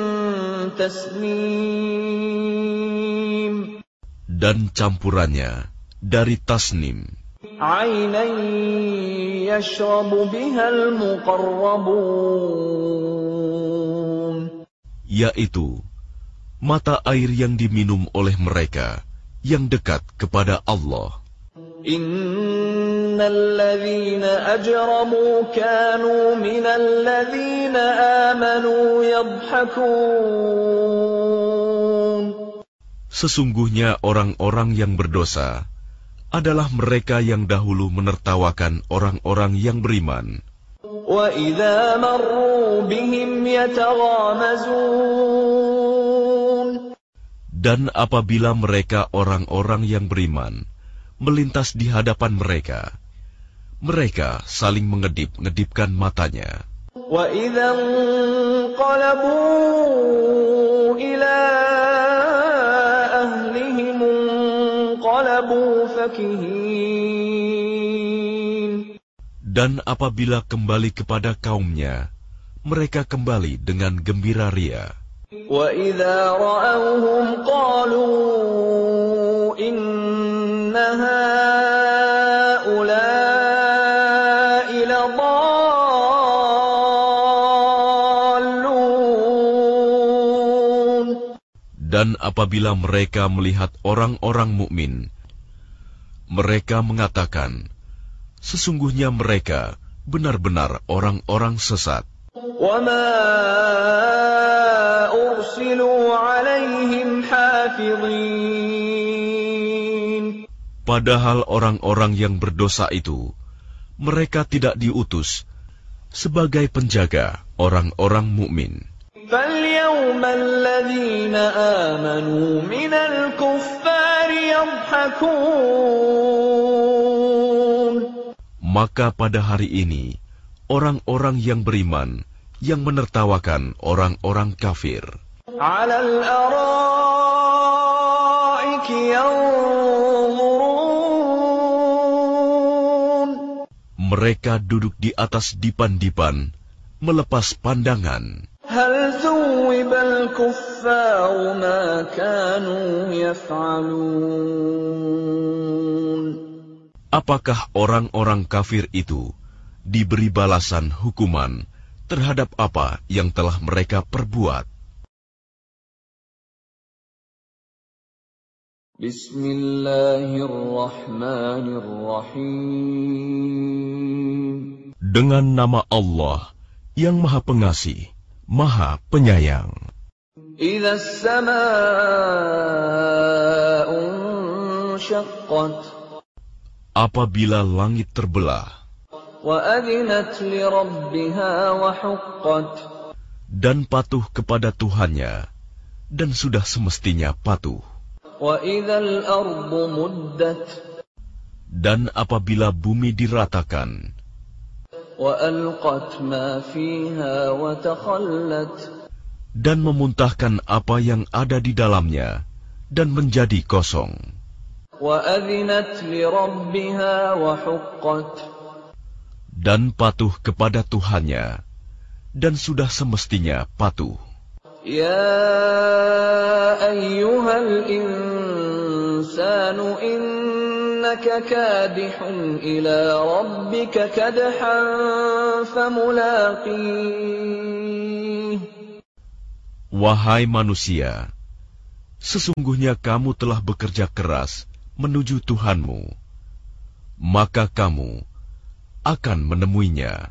tasnim. Dan campurannya dari tasnim. Aynan yashrabu bihal muqarrabun. Yaitu mata air yang diminum oleh mereka yang dekat kepada Allah. Innal ladzina ajramu kanu minal ladzina amanu yadhhakun. Sesungguhnya orang-orang yang berdosa adalah mereka yang dahulu menertawakan orang-orang yang beriman. Wa idza marru bihim yataghamazun. Dan apabila mereka orang-orang yang beriman melintas di hadapan mereka, mereka saling mengedip-ngedipkan matanya. Wa idza qalabu ila ahlihim qalabu fakihin. Dan apabila kembali kepada kaumnya, mereka kembali dengan gembira ria. وَإِذَا رَأَوْهُمْ قَالُوا إِنَّ هَؤُلَاءِ لَضَالُّونَ. Dan apabila mereka melihat orang-orang mukmin, mereka mengatakan, sesungguhnya mereka benar-benar orang-orang sesat. وَمَا أُرْسِلُوا عَلَيْهِمْ حَافِظِينَ. Padahal orang-orang yang berdosa itu, mereka tidak diutus sebagai penjaga orang-orang mukmin. فَالْيَوْمَ الَّذِينَ آمَنُوا مِنَ الْكُفَّارِ يَضْحَكُونَ. Maka pada hari ini, orang-orang yang beriman yang menertawakan orang-orang kafir. عَلَى الْأَرَائِكِ يَنظُرُونَ. Mereka duduk di atas dipan-dipan, melepas pandangan. هَلْ ثُوِّبَ الْكُفَّارُ مَا كَانُوا يَفْعَلُونَ. Apakah orang-orang kafir itu diberi balasan hukuman terhadap apa yang telah mereka perbuat? Bismillahirrahmanirrahim. Dengan nama Allah yang Maha Pengasih, Maha Penyayang. إِذَا السَّمَاءُ انشَقَّتْ. Apabila langit terbelah, وَأَذِنَتْ لِرَبِّهَا وَحُقَّتْ. dan patuh kepada Tuhannya, dan sudah semestinya patuh. وَإِذَا الْأَرْضُ مُدَّتْ. Dan apabila bumi diratakan, وَأَلْقَتْ مَا فِيهَا وَتَخَلَّتْ. dan memuntahkan apa yang ada di dalamnya, dan menjadi kosong. وَأَذِنَتْ لِرَبِّهَا وَحُقَّتْ. Dan patuh kepada Tuhannya, dan sudah semestinya patuh. يَا أَيُّهَا الْإِنسَانُ إِنَّكَ كَادِحٌ إِلَى رَبِّكَ كَدْحًا فَمُلَاقِيهِ. Wahai manusia, sesungguhnya kamu telah bekerja keras menuju Tuhanmu, maka kamu akan menemuinya.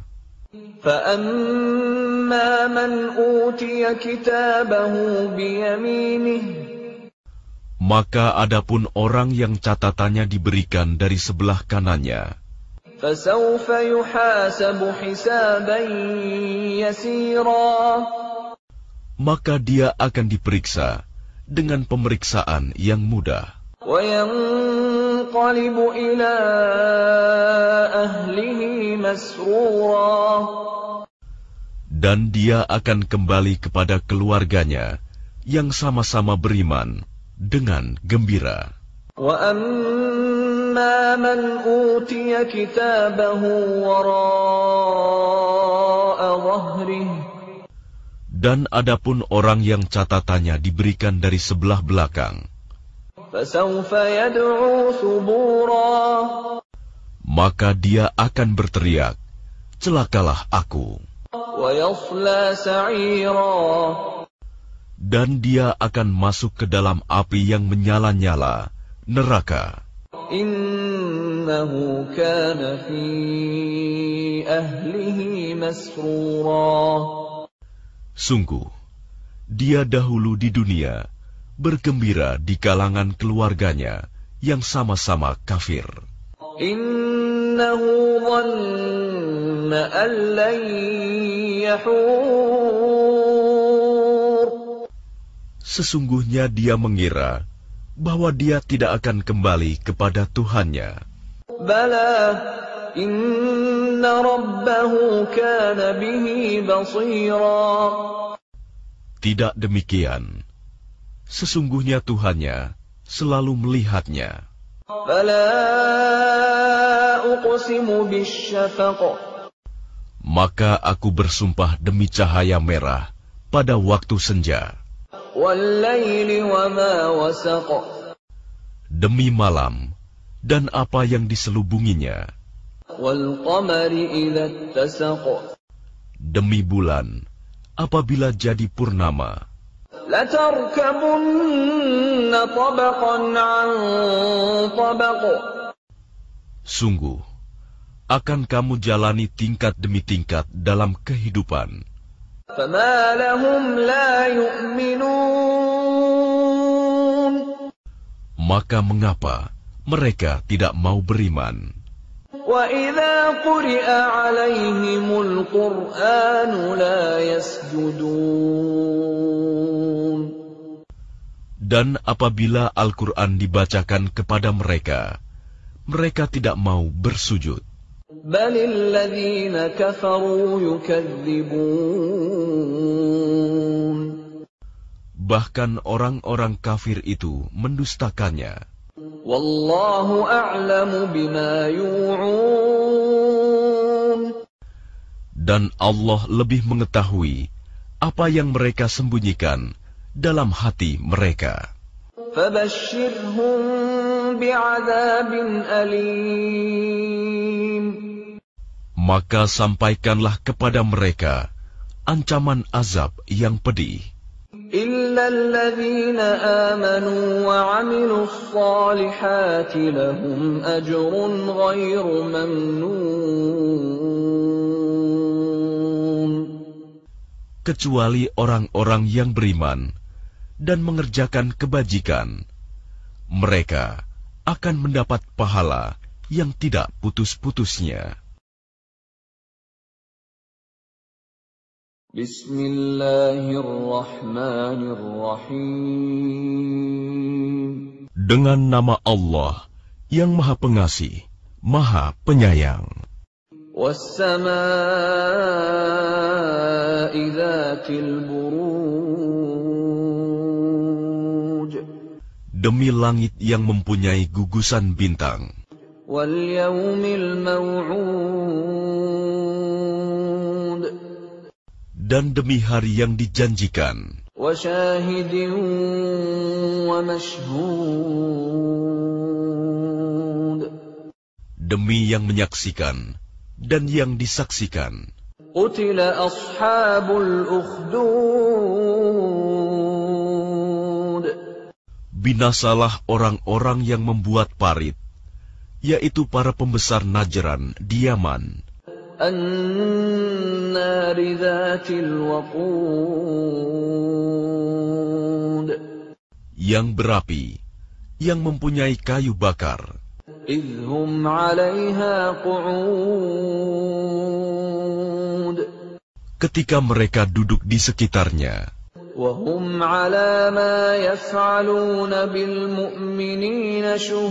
فَأَمَّا مَنْ أُوتِيَ كِتَابَهُ بِيَمِينِهِ. Maka adapun orang yang catatannya diberikan dari sebelah kanannya, فَسَوْفَ يُحَاسَبُ حِسَابًا يَسِيرًا. maka dia akan diperiksa dengan pemeriksaan yang mudah. وَيَنْقَلِبُ إِلَى أَهْلِهِ مَسْرُورًا. Dan dia akan kembali kepada keluarganya yang sama-sama beriman dengan gembira. وَأَمَّا مَنْ أُوتِيَ كِتَابَهُ وَرَاءَ ظَهْرِهِ. Dan adapun orang yang catatannya diberikan dari sebelah belakang, فَسَوْفَ يَدْعُو ثُبُورًا. maka dia akan berteriak, celakalah aku. وَيَصْلَى سَعِيرًا. Dan dia akan masuk ke dalam api yang menyala-nyala, neraka. إِنَّهُ كَانَ فِي أَهْلِهِ مَسْرُورًا. Sungguh, dia dahulu di dunia bergembira di kalangan keluarganya yang sama-sama kafir. Innahu dhanna an lan yahur. Sesungguhnya dia mengira bahwa dia tidak akan kembali kepada Tuhannya. Bala, inna rabbahu kana bihi basira. Tidak demikian. Sesungguhnya Tuhannya selalu melihatnya. Fala uqsimu bisyafaq. Maka aku bersumpah demi cahaya merah pada waktu senja. وَاللَّيْلِ وَمَا وَسَقَ. Demi malam dan apa yang diselubunginya. وَالْقَمَرِ إِذَا اتَّسَقَ. Demi bulan apabila jadi purnama. لَتَرْكَبُنَّ طَبَقًا عَنْ طَبَقٍ. Sungguh, akan kamu jalani tingkat demi tingkat dalam kehidupan. فَمَا لَهُمْ لَا يُؤْمِنُونَ. Maka mengapa mereka tidak mau beriman? وَإِذَا قُرِئَ عَلَيْهِمُ الْقُرْآنُ لَا يَسْجُدُونَ. Dan apabila Al-Quran dibacakan kepada mereka, mereka tidak mau bersujud. بَلِ الَّذِينَ كَفَرُوا يُكَذِّبُونَ. Bahkan orang-orang kafir itu mendustakannya. وَاللَّهُ أَعْلَمُ بِمَا يُوعُونَ. Dan Allah lebih mengetahui apa yang mereka sembunyikan dalam hati mereka. فَبَشِّرْهُم بِعَذَابٍ أَلِيمٍ. Maka sampaikanlah kepada mereka ancaman azab yang pedih. إِلَّا الَّذِينَ آمَنُوا وَعَمِلُوا الصَّالِحَاتِ لَهُمْ أَجْرٌ غَيْرُ مَمْنُونٍ. Kecuali orang-orang yang beriman dan mengerjakan kebajikan, mereka akan mendapat pahala yang tidak putus-putusnya. Bismillahirrahmanirrahim. Dengan nama Allah yang Maha Pengasih, Maha Penyayang. وَالسَّمَاءِ ذَاتِ الْبُرُوجِ. Demi langit yang mempunyai gugusan bintang. وَالْيَوْمِ الْمَوْعُودِ. Dan demi hari yang dijanjikan. وَشَاهِدٍ وَمَشْهُودٍ. Demi yang menyaksikan dan yang disaksikan. قُتِلَ أَصْحَابُ الْأُخْدُودِ. Binasalah orang-orang yang membuat parit, yaitu para pembesar Najran di Yaman. النَّارِ ذَاتِ الْوَقُودِ. Yang berapi, yang mempunyai kayu bakar. إِذْ هُمْ عَلَيْهَا قُعُودٌ. Ketika mereka duduk di sekitarnya. وَهُمْ عَلَى مَا يَفْعَلُونَ بِالْمُؤْمِنِينَ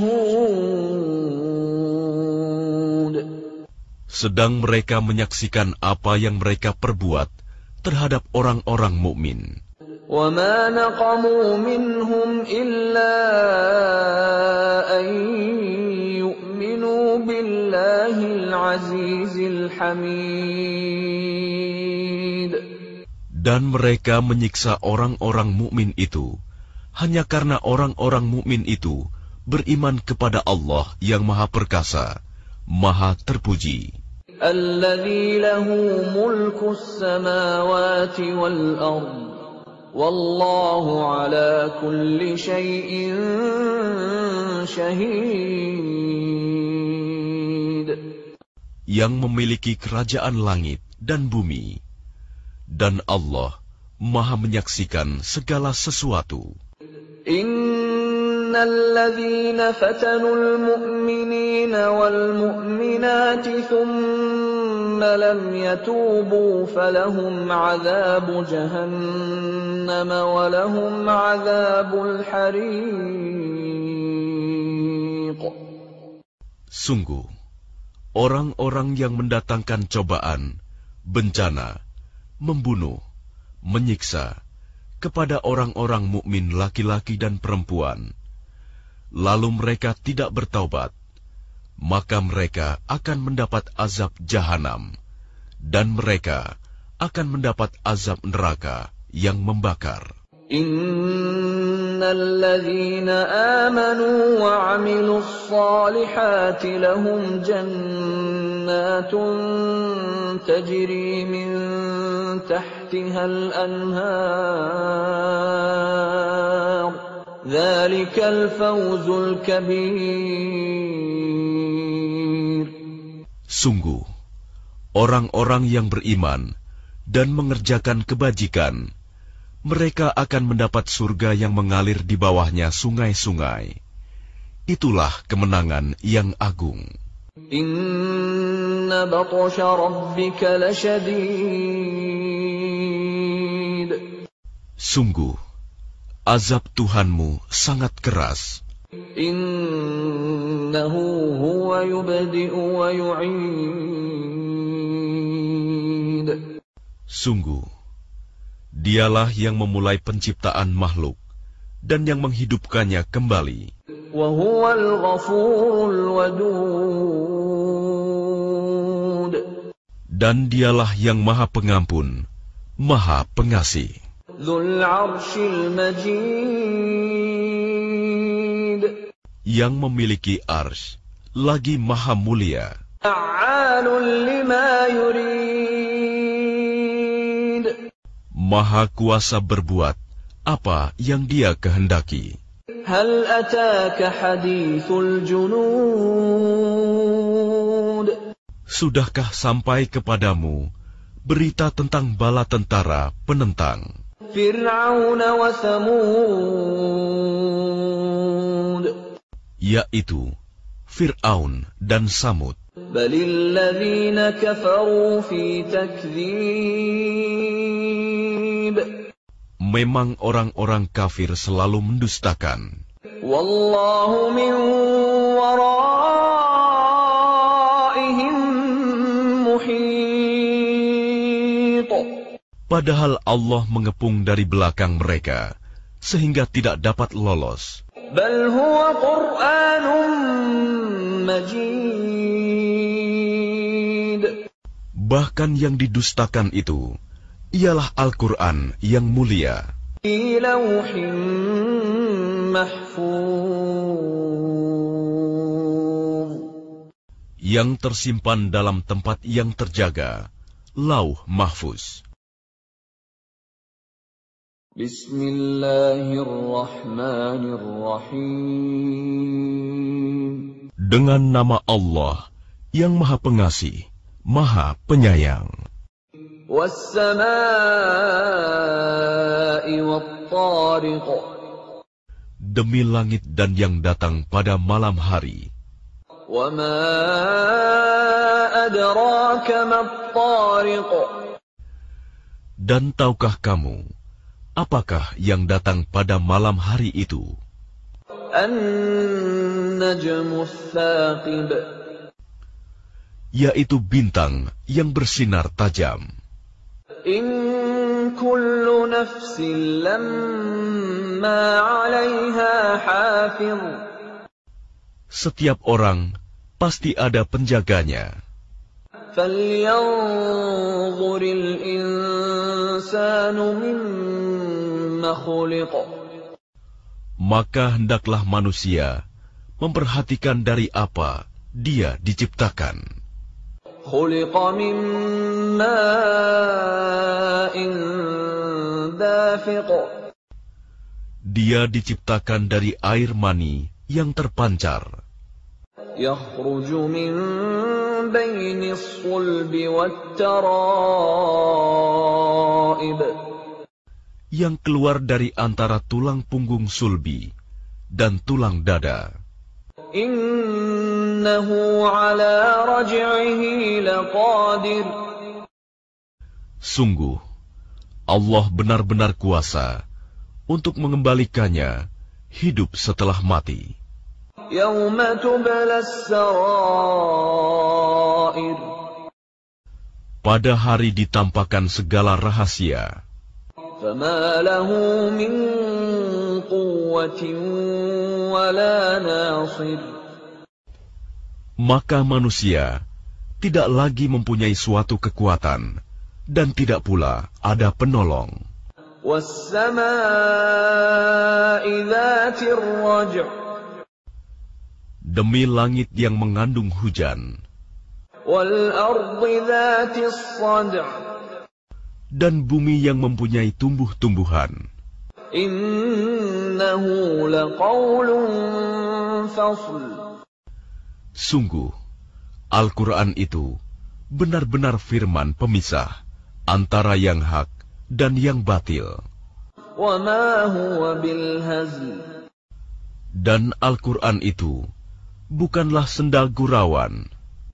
شُهُودٌ. Sedang mereka menyaksikan apa yang mereka perbuat terhadap orang-orang mukmin. وَمَا نَقَمُوا مِنْهُمْ إِلَّا أَن يُؤْمِنُوا بِاللَّهِ الْعَزِيزِ الْحَمِيدِ. Dan mereka menyiksa orang-orang mukmin itu hanya karena orang-orang mukmin itu beriman kepada Allah yang Maha Perkasa, Maha Terpuji. الَّذِي لَهُ مُلْكُ السَّمَاوَاتِ وَالْأَرْضِ وَاللَّهُ عَلَى كُلِّ شَيْءٍ شَهِيدٌ. Yang memiliki kerajaan langit dan bumi, dan Allah Maha menyaksikan segala sesuatu. الَّذِينَ فَتَنُوا الْمُؤْمِنِينَ وَالْمُؤْمِنَاتِ ثُمَّ لَمْ يَتُوبُوا فَلَهُمْ عَذَابُ جَهَنَّمَ وَلَهُمْ عَذَابُ الْحَرِيقِ. Sungguh, orang-orang yang mendatangkan cobaan, bencana, membunuh, menyiksa kepada orang-orang mukmin laki-laki dan perempuan, lalu mereka tidak bertaubat, maka mereka akan mendapat azab jahanam, dan mereka akan mendapat azab neraka yang membakar. Innal ladzina amanu wa 'amilus shalihati lahum jannatun tajri min tahtihal anhar. Dzalikal fawzul kabir. Sungguh, orang-orang yang beriman dan mengerjakan kebajikan, mereka akan mendapat surga yang mengalir di bawahnya sungai-sungai. Itulah kemenangan yang agung. Inna batsha rabbika lasyadid. Sungguh, azab Tuhanmu sangat keras. Innahu huwa yubdi'u wa yu'id. Sungguh, Dialah yang memulai penciptaan makhluk dan yang menghidupkannya kembali. Wa huwal ghafurul wadud. Dan dialah yang maha pengampun, maha pengasih. Dzul 'arsyil majid. Yang memiliki arsy, lagi maha mulia. Fa'alun lima yurid. Maha kuasa berbuat apa yang Dia kehendaki. Hal ataka hadithul junud. Sudahkah sampai kepadamu berita tentang bala tentara penentang Fir'aun wa Thamud, yaitu Fir'aun dan Samud. Balil ladzina kafaru fi takdzib. Memang orang-orang kafir selalu mendustakan. Wallahu min waraihim muhit. Padahal Allah mengepung dari belakang mereka sehingga tidak dapat lolos. Bal huwa Qur'anun majid. Bahkan yang didustakan itu ialah Al-Quran yang mulia. Fi lawhin mahfuz. Yang tersimpan dalam tempat yang terjaga, Lauh Mahfuz. Bismillahirrahmanirrahim. Dengan nama Allah yang Maha Pengasih, Maha Penyayang. Was-samaa'i wat-tariq. Demi langit dan yang datang pada malam hari. Wa ma adraka mat-tariq. Dan tahukah kamu apakah yang datang pada malam hari itu? An-najmu ats-tsaqib. Yaitu bintang yang bersinar tajam. In kullu nafsin lamma 'alaiha hafiz. Setiap orang pasti ada penjaganya. Falyanzuril insanu mimma khuliq. Maka hendaklah manusia memperhatikan dari apa dia diciptakan. Khuliqa min ma'in dafiq. Dia diciptakan dari air mani yang terpancar. Yakhruju min bainis sulbi wat-tara'ib. Yang keluar dari antara tulang punggung sulbi dan tulang dada. Innahu ala raj'ihi laqadir. Sungguh, Allah benar-benar kuasa untuk mengembalikannya hidup setelah mati. Yauma tublas sarair. Pada hari ditampakkan segala rahasia. Fama lahu min quwwatin wala nasir. Maka manusia tidak lagi mempunyai suatu kekuatan dan tidak pula ada penolong. وَالسَّمَاءِ ذَاتِ الرَّجْعِ Demi langit yang mengandung hujan, وَالْأَرْضِ ذَاتِ الصَّدْعِ dan bumi yang mempunyai tumbuh-tumbuhan. إِنَّهُ لَقَوْلٌ فَصْلٌ Sungguh, Al-Quran itu benar-benar firman pemisah antara yang hak dan yang batil. وَمَا هُوَ بِالْهَزْلِ Dan Al-Quran itu bukanlah sendal gurauan.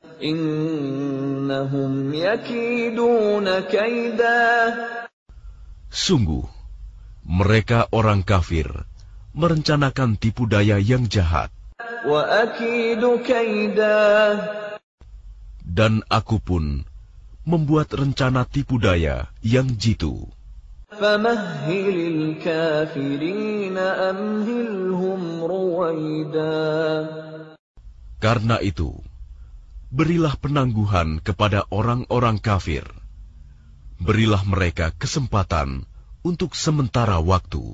إِنَّهُمْ يَكِيدُونَ كَيْدًا Sungguh, mereka orang kafir merencanakan tipu daya yang jahat. وَأَكِيدُ كَيْدًا Dan aku pun membuat rencana tipu daya yang jitu. فَمَهِّلِ الْكَافِرِينَ أَمْهِلْهُمْ رُوَيْدًا Karena itu, berilah penangguhan kepada orang-orang kafir. Berilah mereka kesempatan untuk sementara waktu.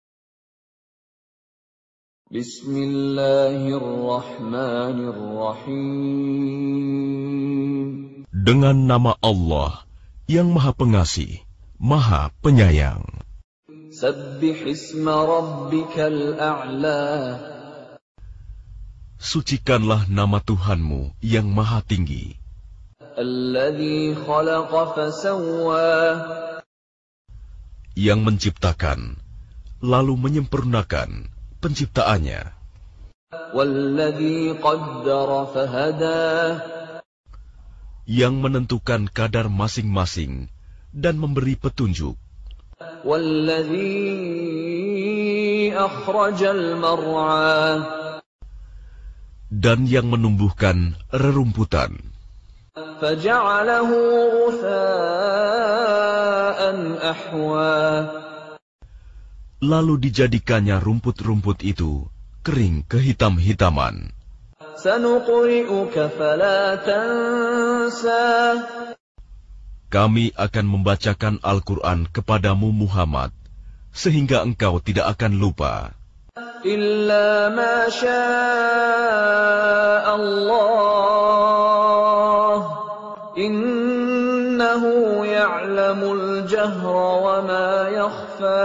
Bismillahirrahmanirrahim. Dengan nama Allah yang Maha Pengasih, Maha Penyayang. Sabbih isma rabbikal a'la. Sucikanlah nama Tuhanmu yang Maha Tinggi. Alladzi khalaqa fasawwa. Yang menciptakan, lalu menyempurnakan penciptaannya. Walladzi qaddara fahada. Yang menentukan kadar masing-masing dan memberi petunjuk. Walladzi akhrajal mar'a. Dan yang menumbuhkan rerumputan. Faja'alahu ghutha'an ahwa. Lalu dijadikannya rumput-rumput itu kering kehitam-hitaman. Sanuqri'uka fala tansa. Kami akan membacakan Al-Quran kepadamu Muhammad, sehingga engkau tidak akan lupa. Illa ma syaa Allah. Innahu ya'lamul jahra wa ma yakhfa.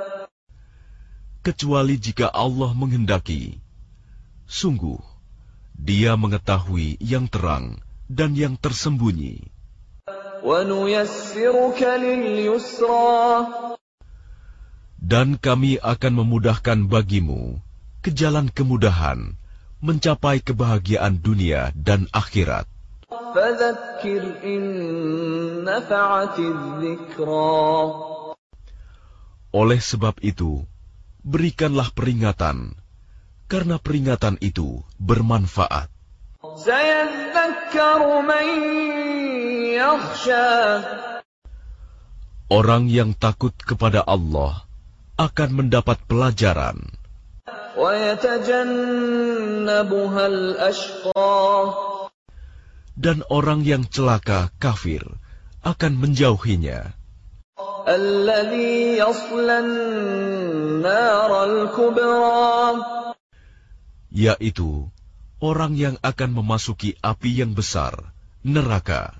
Kecuali jika Allah menghendaki. Sungguh, Dia mengetahui yang terang dan yang tersembunyi. Wa nuyassiruka lil yusra. Dan kami akan memudahkan bagimu ke jalan kemudahan mencapai kebahagiaan dunia dan akhirat. Fadzakkir in nafa'atiz dzikra. Oleh sebab itu, berikanlah peringatan, karena peringatan itu bermanfaat. Sayadzakkaru man yakhsha. Orang yang takut kepada Allah akan mendapat pelajaran. Wayatajannabuhal ashqa. Dan orang yang celaka kafir akan menjauhinya. Alladzi yaslan naral kubra. Yaitu orang yang akan memasuki api yang besar, neraka.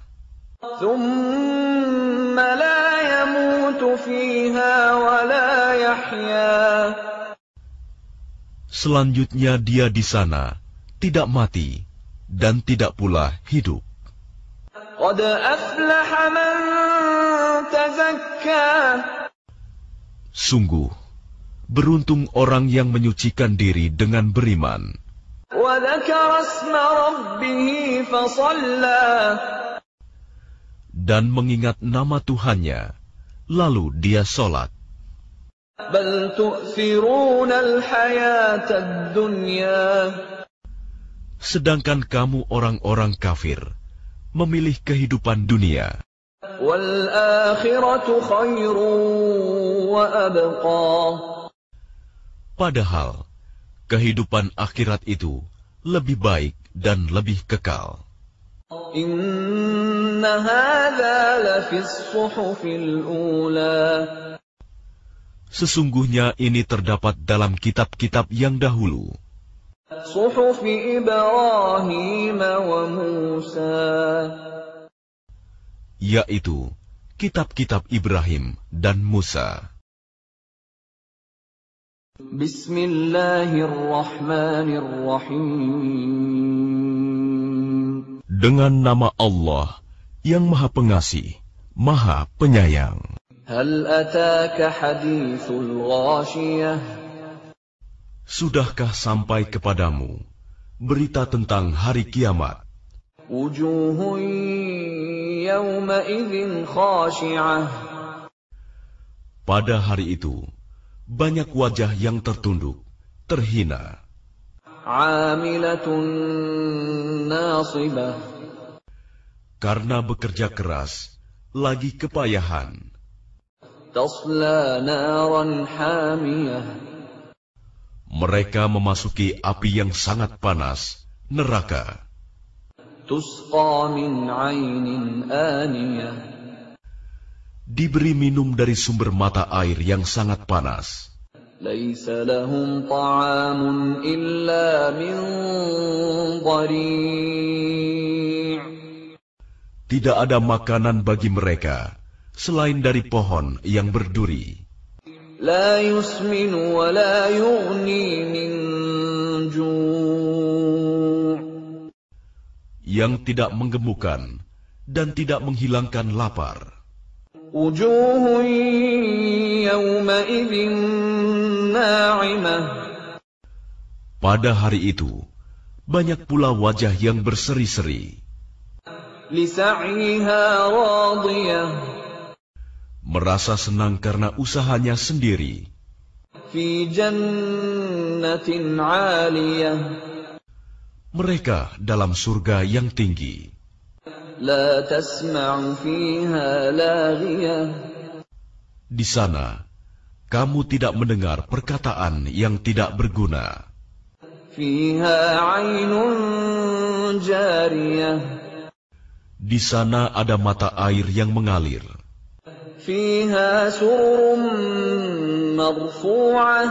Thumma la yamutu fiha wa la yahya. Selanjutnya dia di sana tidak mati dan tidak pula hidup. Qad aflaha man tazakka. Sungguh, beruntung orang yang menyucikan diri dengan beriman. Wa dzakara isma rabbih fa shalla. Dan mengingat nama Tuhannya, lalu dia sholat. Bal tu'thiruna al-hayatad dunya. Sedangkan kamu orang-orang kafir memilih kehidupan dunia. Wal akhiratu khairun wa abqa. Padahal kehidupan akhirat itu lebih baik dan lebih kekal. Inna hadza la fis suhufil ula. Sesungguhnya ini terdapat dalam kitab-kitab yang dahulu. صحف إبراهيم وموسى Yaitu kitab-kitab Ibrahim dan Musa. Bismillahirrahmanirrahim. Dengan nama Allah yang Maha Pengasih, Maha Penyayang. Hal ataka hadithul ghashiyah. Sudahkah sampai kepadamu berita tentang hari kiamat? Wujuhun yawma idzin khashi'ah. Pada hari itu, banyak wajah yang tertunduk, terhina. Amilatun nasibah. Karena bekerja keras, lagi kepayahan. Tasla naran hamiyah. Mereka memasuki api yang sangat panas, neraka. Tusqa min 'ainin aniyah. Diberi minum dari sumber mata air yang sangat panas. Laisa lahum ta'amun illa min dhari'. Tidak ada makanan bagi mereka selain dari pohon yang berduri. La yusminu wa la yughni min ju'. Yang tidak menggemukkan dan tidak menghilangkan lapar. Wujuhun yawma idzin na'imah. Pada hari itu, banyak pula wajah yang berseri-seri. Li sa'yiha radiyah. Merasa senang karena usahanya sendiri. Fi jannatin 'aliyah. Mereka dalam surga yang tinggi. La tasma'u fiha laghiyah. Di sana, kamu tidak mendengar perkataan yang tidak berguna. Fiha 'ainun jariyah. Di sana ada mata air yang mengalir. Fiha sururun marfu'ah.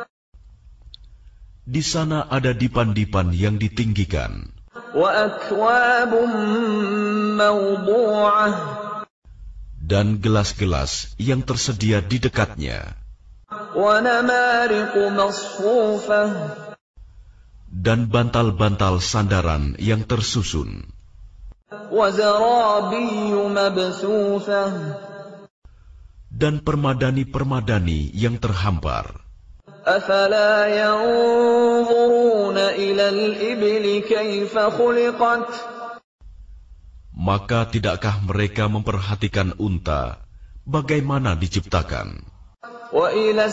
Di sana ada dipan-dipan yang ditinggikan. Wa akwabun mawdu'ah. Dan gelas-gelas yang tersedia di dekatnya. Wa namariqu masfufah. Dan bantal-bantal sandaran yang tersusun. Wa zarabiyyu mabsuthah. Dan permadani-permadani yang terhampar. Afala yanzuruna ila al-ibli kaifa khuliqat. Maka tidakkah mereka memperhatikan unta bagaimana diciptakan? Wa ila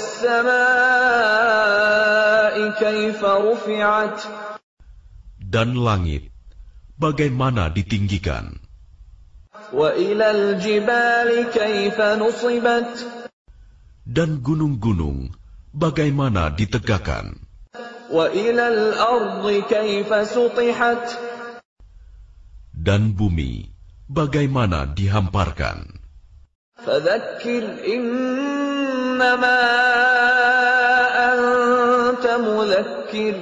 as-samaa'i kaifa rufi'at. Dan langit bagaimana ditinggikan? Wa ila al-jibali kaifa nusibat. Dan gunung-gunung bagaimana ditegakkan? Wa ila al-ardi kaifa sutihat. Dan bumi bagaimana dihamparkan? Fadzakkir innama anta mudzakkir.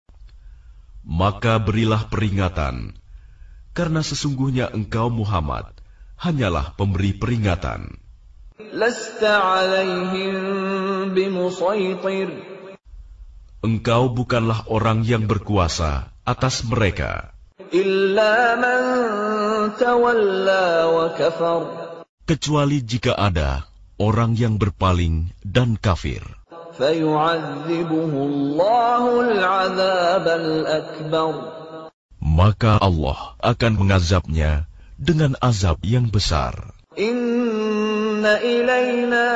Maka berilah peringatan, karena sesungguhnya engkau Muhammad hanyalah pemberi peringatan. Lasta 'alaihim bimusaitir. Engkau bukanlah orang yang berkuasa atas mereka. Illa man tawalla wa kafar. Kecuali jika ada orang yang berpaling dan kafir. Fayu'adzibuhu Allahu al-'adzab al-akbar. Maka Allah akan mengazabnya dengan azab yang besar. Inna ilayna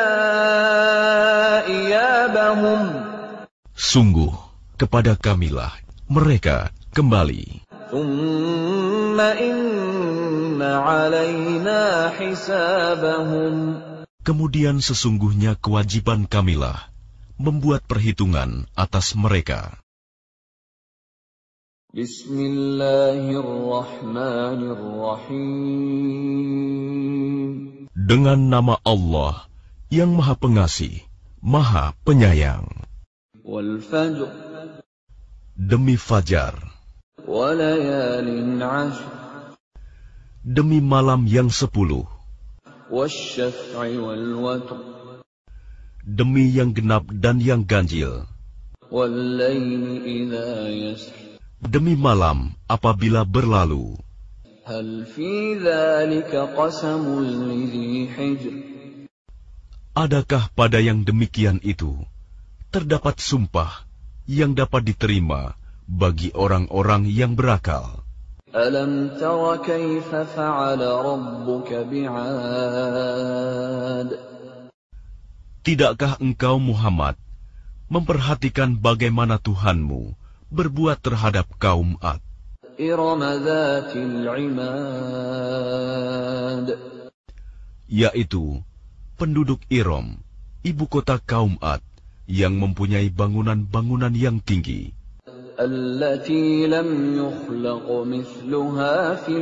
iyabahum. Sungguh, kepada kamilah mereka kembali. Thumma inna alayna hisabahum. Kemudian sesungguhnya kewajiban kamilah membuat perhitungan atas mereka. Bismillahirrahmanirrahim. Dengan nama Allah yang Maha Pengasih, Maha Penyayang. وَالْفَجْرِ Demi fajar, وَلَيَالٍ عَشْرٍ demi malam yang sepuluh, وَالشَّفْعِ وَالْوَتْرِ demi yang genap dan yang ganjil, وَاللَّيْلِ إِذَا يَسْرِ demi malam apabila berlalu. هَلْ فِي ذَلِكَ قَسَمٌ لِذِي حِجْرٍ Adakah pada yang demikian itu terdapat sumpah yang dapat diterima bagi orang-orang yang berakal? أَلَمْ تَرَ كَيْفَ فَعَلَ رَبُّكَ بِعَادٍ Tidakkah engkau Muhammad memperhatikan bagaimana Tuhanmu berbuat terhadap kaum Ad, إِرَمَ ذَاتِ الْعِمَادِ yaitu penduduk Iram, ibu kota kaum Ad, yang mempunyai bangunan-bangunan yang tinggi, التي لم يخلق مثلها في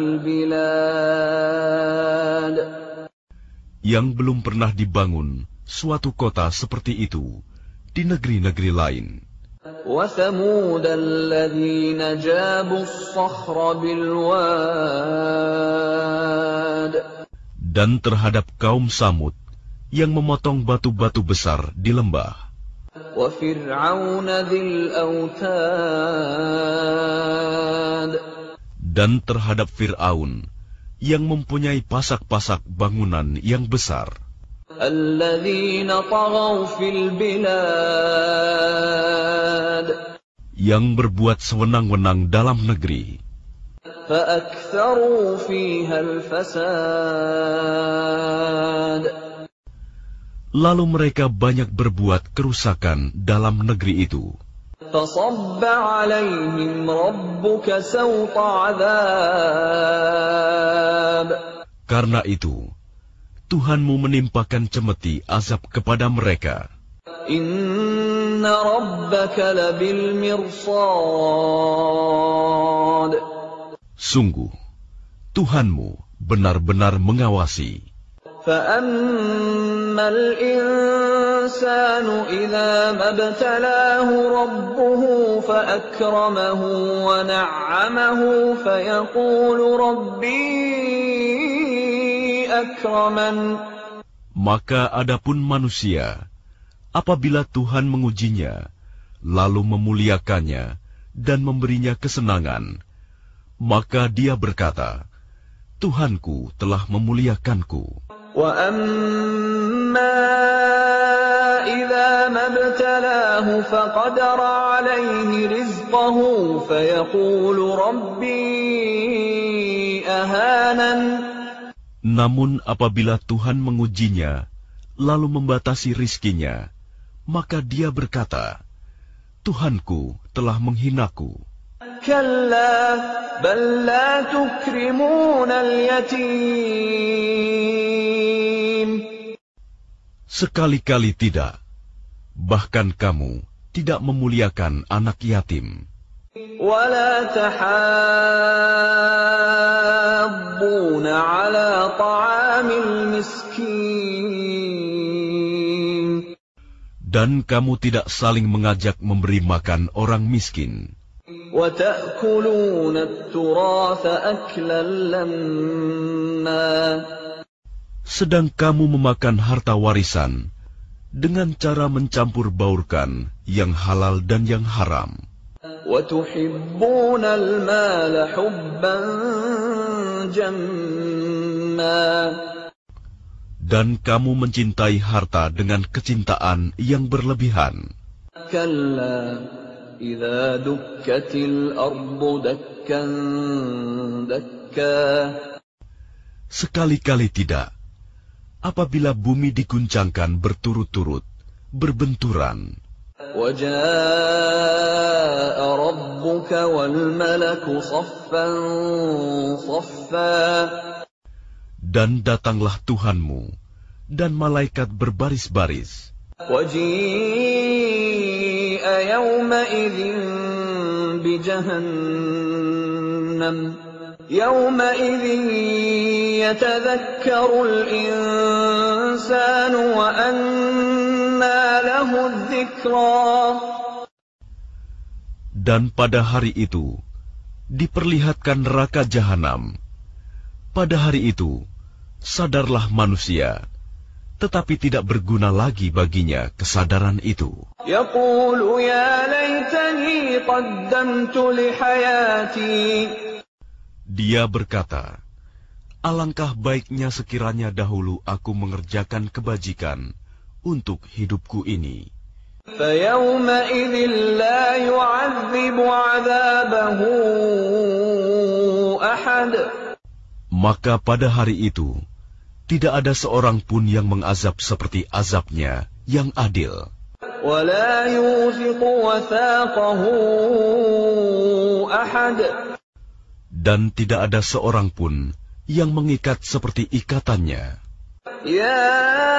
البلاد yang belum pernah dibangun suatu kota seperti itu di negeri-negeri lain. وثمود الذين جابوا الصخر بالواد Dan terhadap kaum Samud yang memotong batu-batu besar di lembah, وفرعون ذي الأوتاد dan terhadap Fir'aun yang mempunyai pasak-pasak bangunan yang besar, الذين طغوا في البلاد yang berbuat sewenang-wenang dalam negeri, فأكثروا فيها الفساد lalu mereka banyak berbuat kerusakan dalam negeri itu. فصب عليهم ربك سوط عذاب Karena itu, Tuhanmu menimpakan cemeti azab kepada mereka. إن ربك لبالمرصاد Sungguh, Tuhanmu benar-benar mengawasi. فأما الإنسان إذا ما ابتلاه ربه فأكرمه ونعمه فيقول ربي أكرمن Maka adapun manusia, apabila Tuhan mengujinya, lalu memuliakannya dan memberinya kesenangan, maka dia berkata, Tuhanku telah memuliakanku. وَأَمَّا إِذَا مَا ابْتَلَاهُ فَقَدَرَ عَلَيْهِ رِزْقَهُ فَيَقُولُ رَبِّي أَهَانَنِ Namun apabila Tuhan mengujinya, lalu membatasi rizkinya, maka dia berkata, Tuhanku telah menghinaku. كَلَّا بَل لَّا تُكْرِمُونَ الْيَتِيمَ Sekali-kali tidak. Bahkan kamu tidak memuliakan anak yatim. وَلَا تَحَاضُّونَ عَلَى طَعَامِ الْمِسْكِينِ Dan kamu tidak saling mengajak memberi makan orang miskin. وَتَأْكُلُونَ التُّرَاثَ أَكْلًا لَمًّا Sedang kamu memakan harta warisan dengan cara mencampur baurkan yang halal dan yang haram. وَتُحِبُّونَ الْمَالَ حُبًّا جَمًّا Dan kamu mencintai harta dengan kecintaan yang berlebihan. كَلَّا إِذَا دُكَّتِ الْأَرْضُ دَكًّا دَكًّا Sekali-kali tidak. Apabila bumi diguncangkan berturut-turut, berbenturan, وَجَاءَ رَبُّكَ وَالْمَلَكُ صَفًّا صَفًّا dan datanglah Tuhanmu, dan malaikat berbaris-baris. وَجِيءَ يَوْمَئِذٍ بِجَهَنَّمَ يَوْمَئِذٍ يَتَذَكَّرُ الْإِنسَانُ وَأَنَّىٰ وَأَنَّى لَهُ الذِّكْرَى. Dan pada hari itu diperlihatkan neraka jahanam. Pada hari itu sadarlah manusia, tetapi tidak berguna lagi baginya kesadaran itu. يَقُولُ يَا لَيْتَنِي قَدَّمْتُ لِحَيَاتِي. Dia berkata, alangkah baiknya sekiranya dahulu aku mengerjakan kebajikan untuk hidupku ini. فَيَوْمَئِذٍ لَا يُعَذِّبُ عَذَابَهُ أَحَدٌ. Maka pada hari itu tidak ada seorang pun yang mengazab seperti azabnya yang adil. وَلَا يُوثِقُ وَثَاقَهُ أَحَدٌ. Dan tidak ada seorang pun yang mengikat seperti ikatannya. يَا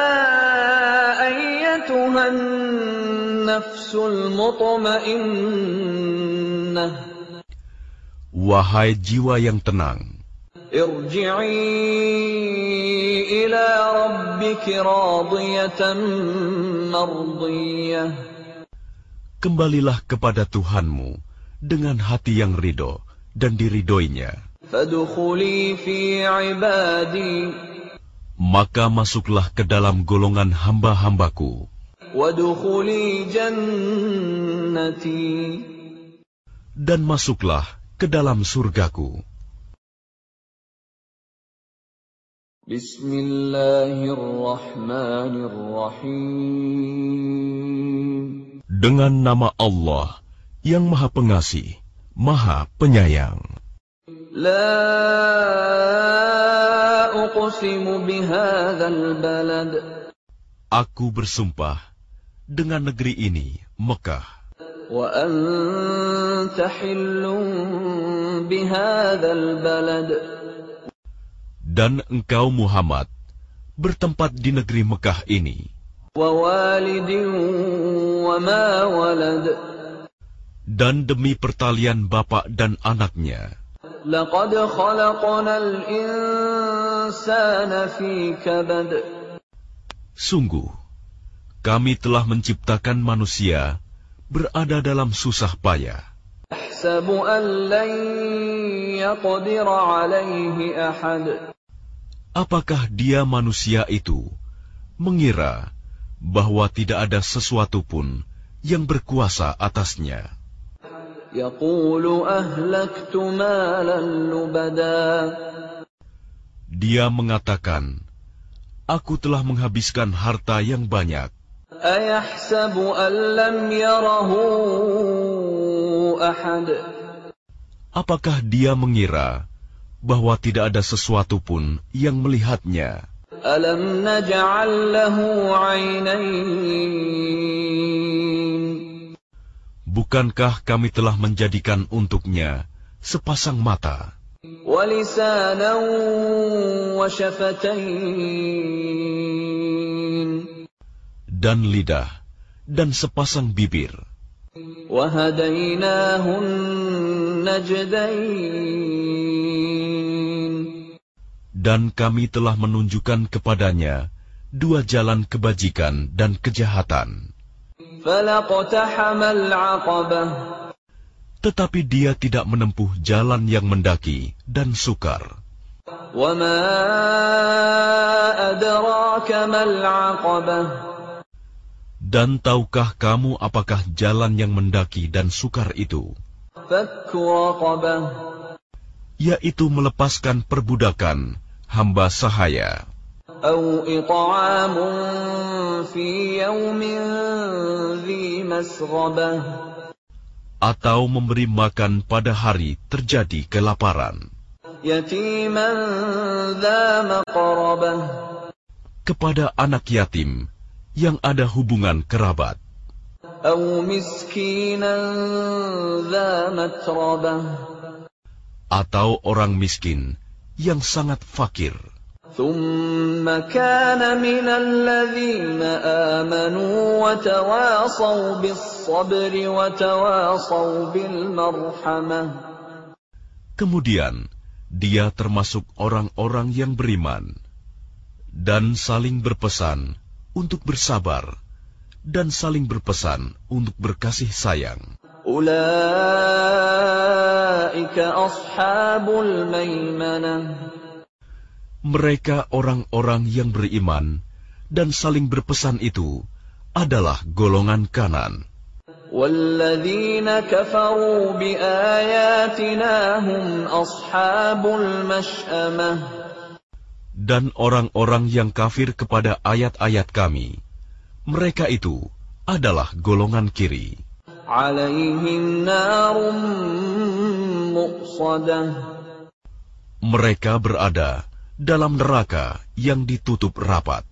أَيَّتُهَا النَّفْسُ الْمُطْمَئِنَّةُ. Wahai jiwa yang tenang, ارجعي إلى ربك راضية مرضية. kembalilah kepada Tuhanmu dengan hati yang ridho dan diridhoinya. فادخلي في عبادي. Maka masuklah ke dalam golongan hamba-hambaku. وادخلي جنتي. Dan masuklah ke dalam surgaku. Bismillahirrahmanirrahim. Dengan nama Allah yang Maha Pengasih, Maha Penyayang. La uqsimu bihadzal balad. Aku bersumpah dengan negeri ini, Mekah. Wa anta hillun bihadzal balad. Dan engkau Muhammad bertempat di negeri Mekah ini. Dan demi pertalian bapak dan anaknya. Sungguh, kami telah menciptakan manusia berada dalam susah payah. Apakah dia manusia itu mengira bahwa tidak ada sesuatu pun yang berkuasa atasnya? Dia mengatakan, aku telah menghabiskan harta yang banyak. Apakah dia mengira bahwa tidak ada sesuatu pun yang melihatnya? Alam naj'al lahu 'ainayn. Bukankah kami telah menjadikan untuknya sepasang mata? Wa lisanan wa shafatayn. Dan lidah dan sepasang bibir. Wa hadaynahun najdayn. Dan kami telah menunjukkan kepadanya dua jalan kebajikan dan kejahatan. Tetapi dia tidak menempuh jalan yang mendaki dan sukar. Dan tahukah kamu apakah jalan yang mendaki dan sukar itu? Yaitu melepaskan perbudakan hamba sahaya. Atau memberi makan pada hari terjadi kelaparan. Kepada anak yatim yang ada hubungan kerabat. Atau orang miskin yang sangat fakir. Kemudian dia termasuk orang-orang yang beriman dan saling berpesan untuk bersabar dan saling berpesan untuk berkasih sayang. Ulaika ashabul maimanah. Mereka orang-orang yang beriman dan saling berpesan itu adalah golongan kanan. Walladzina kafaru biayatina hum ashabul mash'amah. Dan orang-orang yang kafir kepada ayat-ayat kami, mereka itu adalah golongan kiri. Alaihim narum muqsadah. Mereka berada dalam neraka yang ditutup rapat.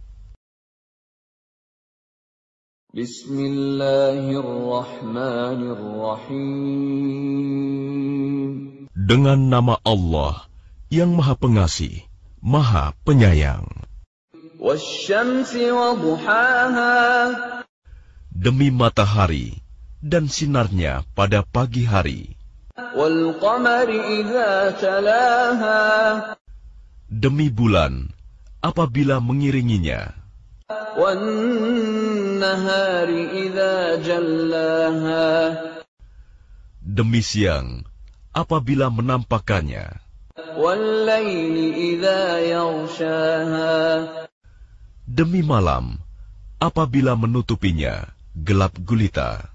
Bismillahirrahmanirrahim. Dengan nama Allah yang Maha Pengasih, Maha Penyayang. Wasyamsi wa duhaha. Demi matahari dan sinarnya pada pagi hari. Wal qamari idza talaha. Demi bulan apabila mengiringinya. Wan nahari idza jallaha. Demi siang apabila menampakkannya. Wal laili idza yaghshaha. Demi malam apabila menutupinya gelap gulita.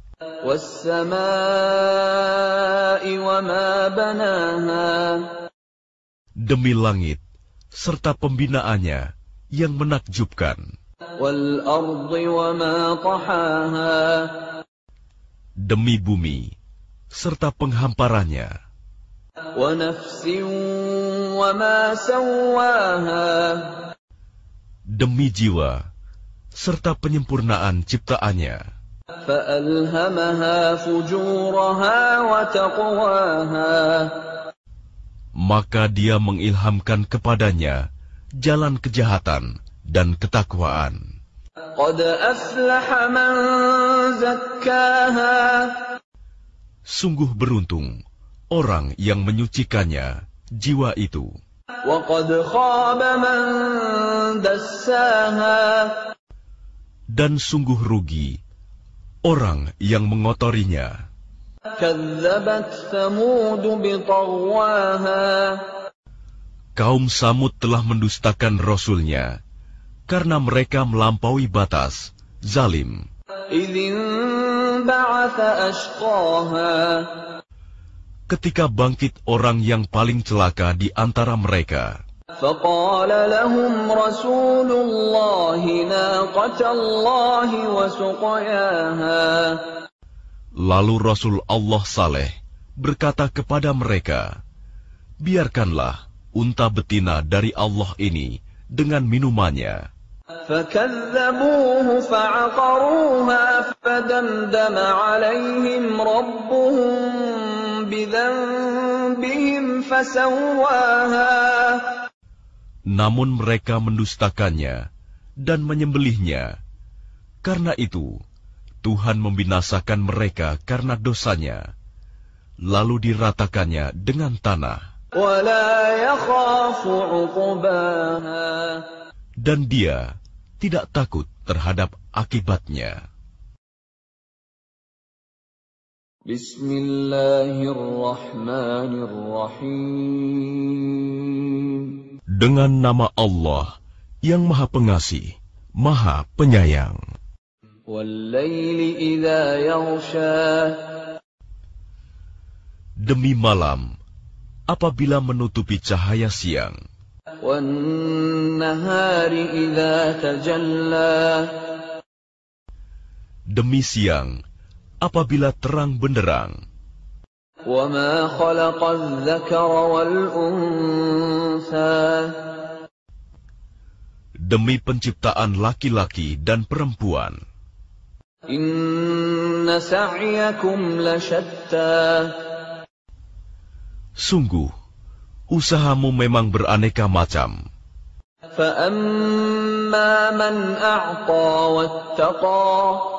Was-samaa'i wa ma banaha. Demi langit serta pembinaannya yang menakjubkan. Wal ardi wa ma tahaha. Demi bumi serta penghamparannya. Wa nafsin wa ma sawwaha. Demi jiwa serta penyempurnaan ciptaannya. فَأَلْهَمَهَا فُجُورَهَا وَتَقْوَاهَا. Maka dia mengilhamkan kepadanya jalan kejahatan dan ketakwaan. قَدْ أَفْلَحَ مَنْ زَكَّاهَا. Sungguh beruntung orang yang menyucikannya, jiwa itu. وَقَدْ خَابَ مَنْ دَسَّاهَا. Dan sungguh rugi orang yang mengotorinya. كَذَّبَتْ ثَمُودُ بِطَغْوَاهَا. Kaum Samud telah mendustakan Rasulnya, karena mereka melampaui batas, zalim. إِذِ انبَعَثَ أَشْقَاهَا. Ketika bangkit orang yang paling celaka di antara mereka. فَقَالَ لَهُمْ رَسُولُ اللَّهِ نَاقَةَ اللَّهِ وَسُقْيَاهَا. Lalu Rasul Allah Saleh berkata kepada mereka, biarkanlah unta betina dari Allah ini dengan minumannya. فَكَذَّبُوهُ فَعَقَرُوهَا فَدَمْدَمَ عَلَيْهِمْ رَبُّهُمْ بِذَنبِهِمْ فَسَوَّاهَا. Namun mereka mendustakannya dan menyembelihnya. Karena itu, Tuhan membinasakan mereka karena dosanya, lalu diratakannya dengan tanah. وَلَا يَخَافُ عُقْبَاهَا. Dan dia tidak takut terhadap akibatnya. Bismillahirrahmanirrahim. Dengan nama Allah yang Maha Pengasih, Maha Penyayang. Wal-laili idza yaghsha. Demi malam, apabila menutupi cahaya siang. Wan-nahari idza tajalla. Demi siang, apabila terang benderang. Wa ma khalaqa adh-dhakara wal-untha. Demi penciptaan laki-laki dan perempuan. Inna sa'yakum lashatta. Sungguh, usahamu memang beraneka macam. Fa amma man a'ta wattaqa.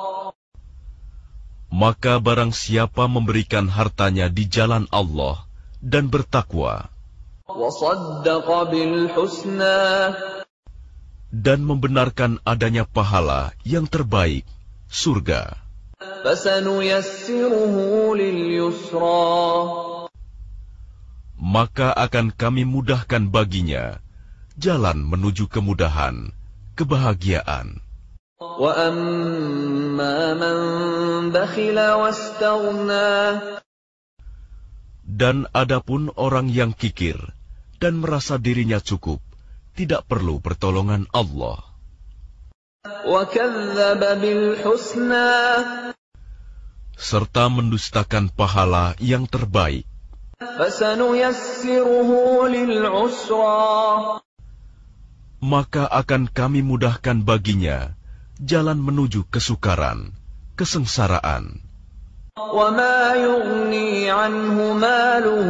Maka barang siapa memberikan hartanya di jalan Allah dan bertakwa. Wa saddaqa bil husna. Dan membenarkan adanya pahala yang terbaik. surga. فَسَنُيَسِّرُهُ لِلْيُسْرَى Maka akan kami mudahkan baginya jalan menuju kemudahan, kebahagiaan. وَأَمَّا مَنْ بَخِلَ وَاسْتَغْنَى Dan adapun orang yang kikir dan merasa dirinya cukup, tidak perlu pertolongan Allah. وَكَذَّبَ بِالْحُسْنَى Serta mendustakan pahala yang terbaik. فَسَنُيَسِّرُهُ لِلْعُسْرَى Maka akan kami mudahkan baginya jalan menuju kesukaran, kesengsaraan. وَمَا يُغْنِي عَنْهُ مَالُهُ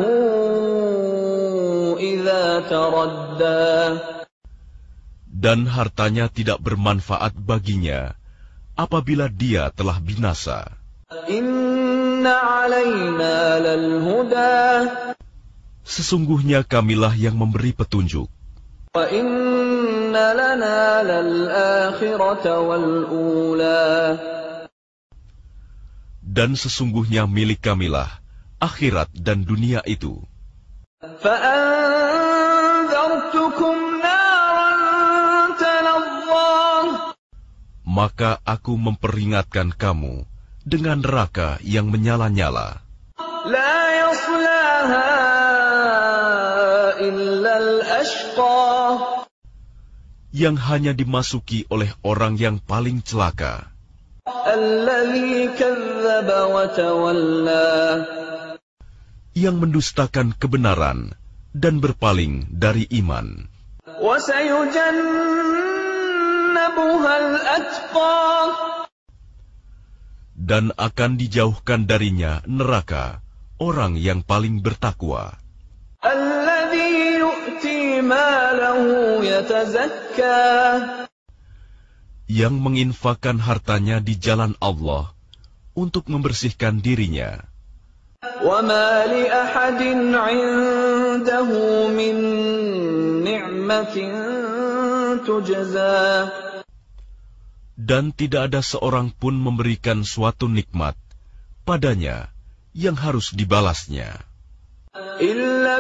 إِذَا تَرَدَّى Dan hartanya tidak bermanfaat baginya apabila dia telah binasa. إِنَّ عَلَيْنَا لَلْهُدَى Sesungguhnya kamilah yang memberi petunjuk. وَإِنَّ لَنَا لَلْآخِرَةَ وَالْأُولَى Dan sesungguhnya milik kamilah akhirat dan dunia itu. فَأَنذَرْتُكُمْ نَارًا تَلَظَّى Maka aku memperingatkan kamu dengan neraka yang menyala-nyala. لَا يَصْلَاهَا إِلَّا الْأَشْقَى Yang hanya dimasuki oleh orang yang paling celaka, الَّذِي كَذَّبَ وَتَوَلَّى yang mendustakan kebenaran dan berpaling dari iman. وَسَيُجَنَّبُهَا الْأَتْقَى Dan akan dijauhkan darinya neraka orang yang paling bertakwa, الَّذِي يُؤْتِي مَالَهُ يَتَزَكَّى yang menginfakkan hartanya di jalan Allah untuk membersihkan dirinya. وَمَا لِأَحَدٍ عِندَهُ مِنْ نِعْمَةٍ تُجْزَى Dan tidak ada seorang pun memberikan suatu nikmat padanya yang harus dibalasnya, إِلَّا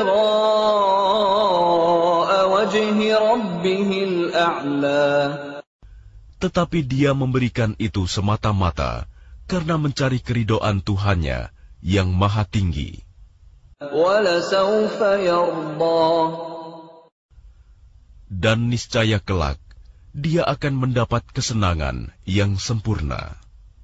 ابْتِغَاءَ وَجْهِ رَبِّهِ الْأَعْلَى tetapi dia memberikan itu semata-mata karena mencari keridhaan Tuhannya yang maha tinggi. وَلَسَوْفَ يَرْضَى Dan niscaya kelak dia akan mendapat kesenangan yang sempurna.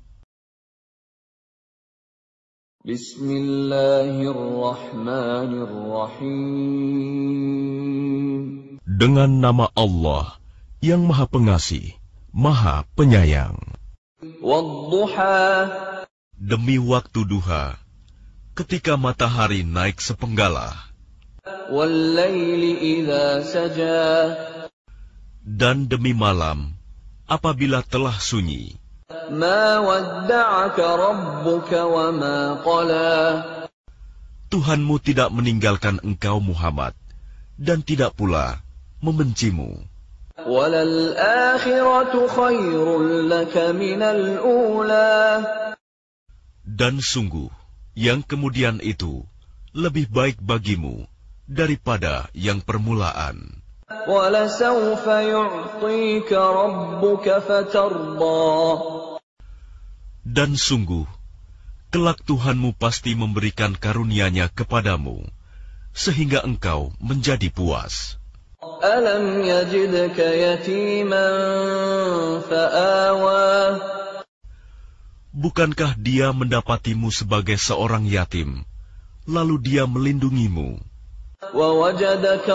Bismillahirrahmanirrahim. Dengan nama Allah yang maha pengasih, maha penyayang. وَالضُّحَى Demi waktu duha, ketika matahari naik sepenggalah, وَاللَّيْلِ إِذَا سَجَى dan demi malam apabila telah sunyi. مَا وَدَّعَكَ رَبُّكَ وَمَا قَلَى Tuhanmu tidak meninggalkan engkau Muhammad, dan tidak pula membencimu. وَلَلْآخِرَةُ خَيْرٌ لَكَ مِنَ الْأُولَى Dan sungguh, yang kemudian itu lebih baik bagimu daripada yang permulaan. وَلَسَوْفَ يُعْطِيكَ رَبُّكَ فَتَرْضَى Dan sungguh, kelak Tuhanmu pasti memberikan karunia-Nya kepadamu, sehingga engkau menjadi puas. أَلَمْ يَجِدْكَ يَتِيمًا فَآوَى Bukankah dia mendapatimu sebagai seorang yatim, lalu dia melindungimu? وَوَجَدَكَ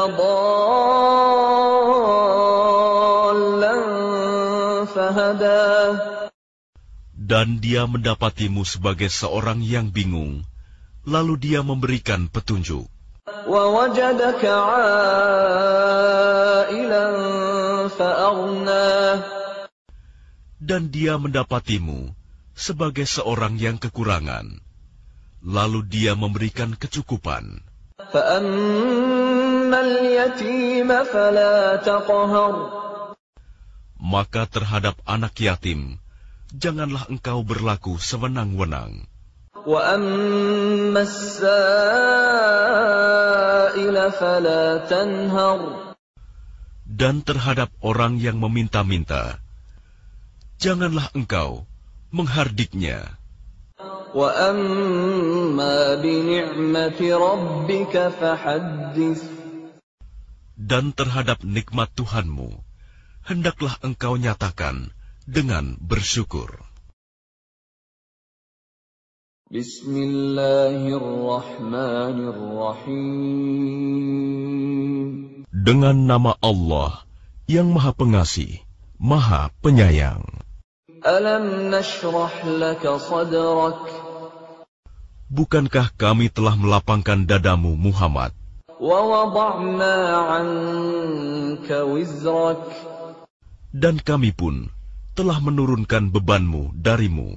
ضَالًّا فَهَدَى Dan dia mendapatimu sebagai seorang yang bingung, lalu dia memberikan petunjuk. وَوَجَدَكَ عَائِلًا فَأَغْنَى Dan dia mendapatimu sebagai seorang yang kekurangan, lalu dia memberikan kecukupan. فَأَمَّا الْيَتِيمَ فَلَا تَقْهَرْ Maka terhadap anak yatim, janganlah engkau berlaku sewenang-wenang. وَأَمَّا السَّائِلَ فَلَا تَنْهَرْ. Dan terhadap orang yang meminta-minta, janganlah engkau menghardiknya. وَأَمَّا بِنِعْمَةِ رَبِّكَ فَحَدِّثْ. Dan terhadap nikmat Tuhanmu, hendaklah engkau nyatakan dengan bersyukur. Bismillahirrahmanirrahim. Dengan nama Allah yang Maha Pengasih, Maha Penyayang. Alam nashrah laka sadrak. Bukankah kami telah melapangkan dadamu, Muhammad? Wa wada'na 'anka wizrak. Dan kami pun telah menurunkan bebanmu darimu.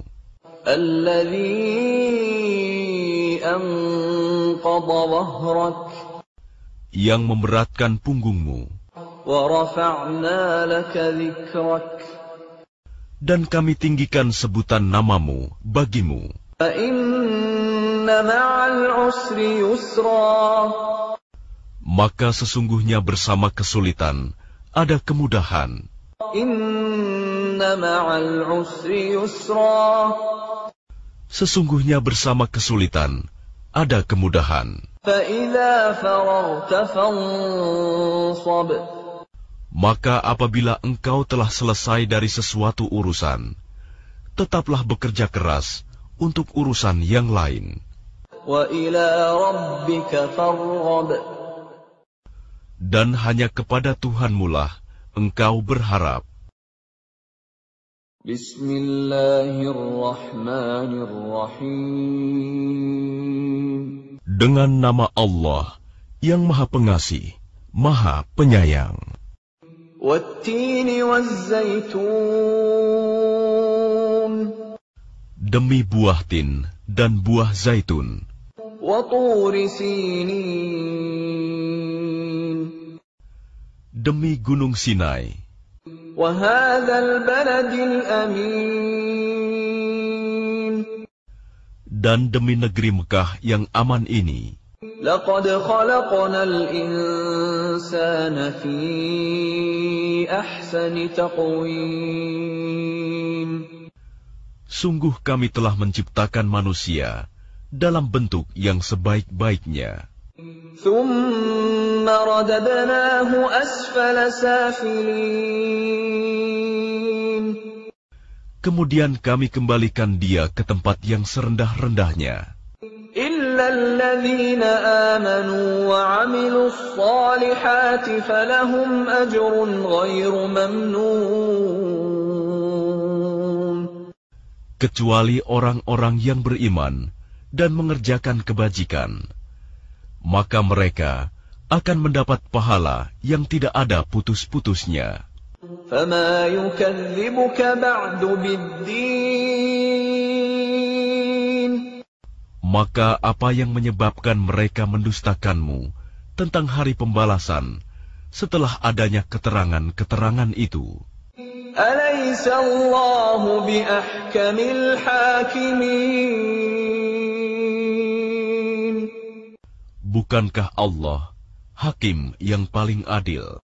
Alladzi anqadha dhahrak. Yang memberatkan punggungmu. Wa rafa'na laka dhikrak. Dan kami tinggikan sebutan namamu bagimu. Fa inna ma'al usri yusra. Maka sesungguhnya bersama kesulitan ada kemudahan. Inna ma'al usri yusra. Sesungguhnya bersama kesulitan ada kemudahan. Fa idza faragta fansab. Maka apabila engkau telah selesai dari sesuatu urusan, tetaplah bekerja keras untuk urusan yang lain. Wa ila rabbika farghab. Dan hanya kepada Tuhanmu lah engkau berharap. Bismillahirrahmanirrahim. Dengan nama Allah yang Maha Pengasih, Maha Penyayang. Wattini wazzaitun. Demi buah tin dan buah zaitun. Wa turi sinin. Demi gunung Sinai. Wa hadzal baladil amin. Dan demi negeri Mekah yang aman ini. Laqad khalaqnal insana fi ahsani taqwim. Sungguh kami telah menciptakan manusia dalam bentuk yang sebaik-baiknya. Thumma radadnahu asfala safilin. Kemudian kami kembalikan dia ke tempat yang serendah-rendahnya. Illa alladhina amanu wa 'amilus salihati falahum ajrun ghairu mamnun. Kecuali orang-orang yang beriman dan mengerjakan kebajikan, maka mereka akan mendapat pahala yang tidak ada putus-putusnya. Fama yukadzibuka ba'du biddin. Maka apa yang menyebabkan mereka mendustakanmu tentang hari pembalasan setelah adanya keterangan-keterangan itu? Alaysa Allahu biahkamil hakimin. Bukankah Allah Hakim yang paling adil?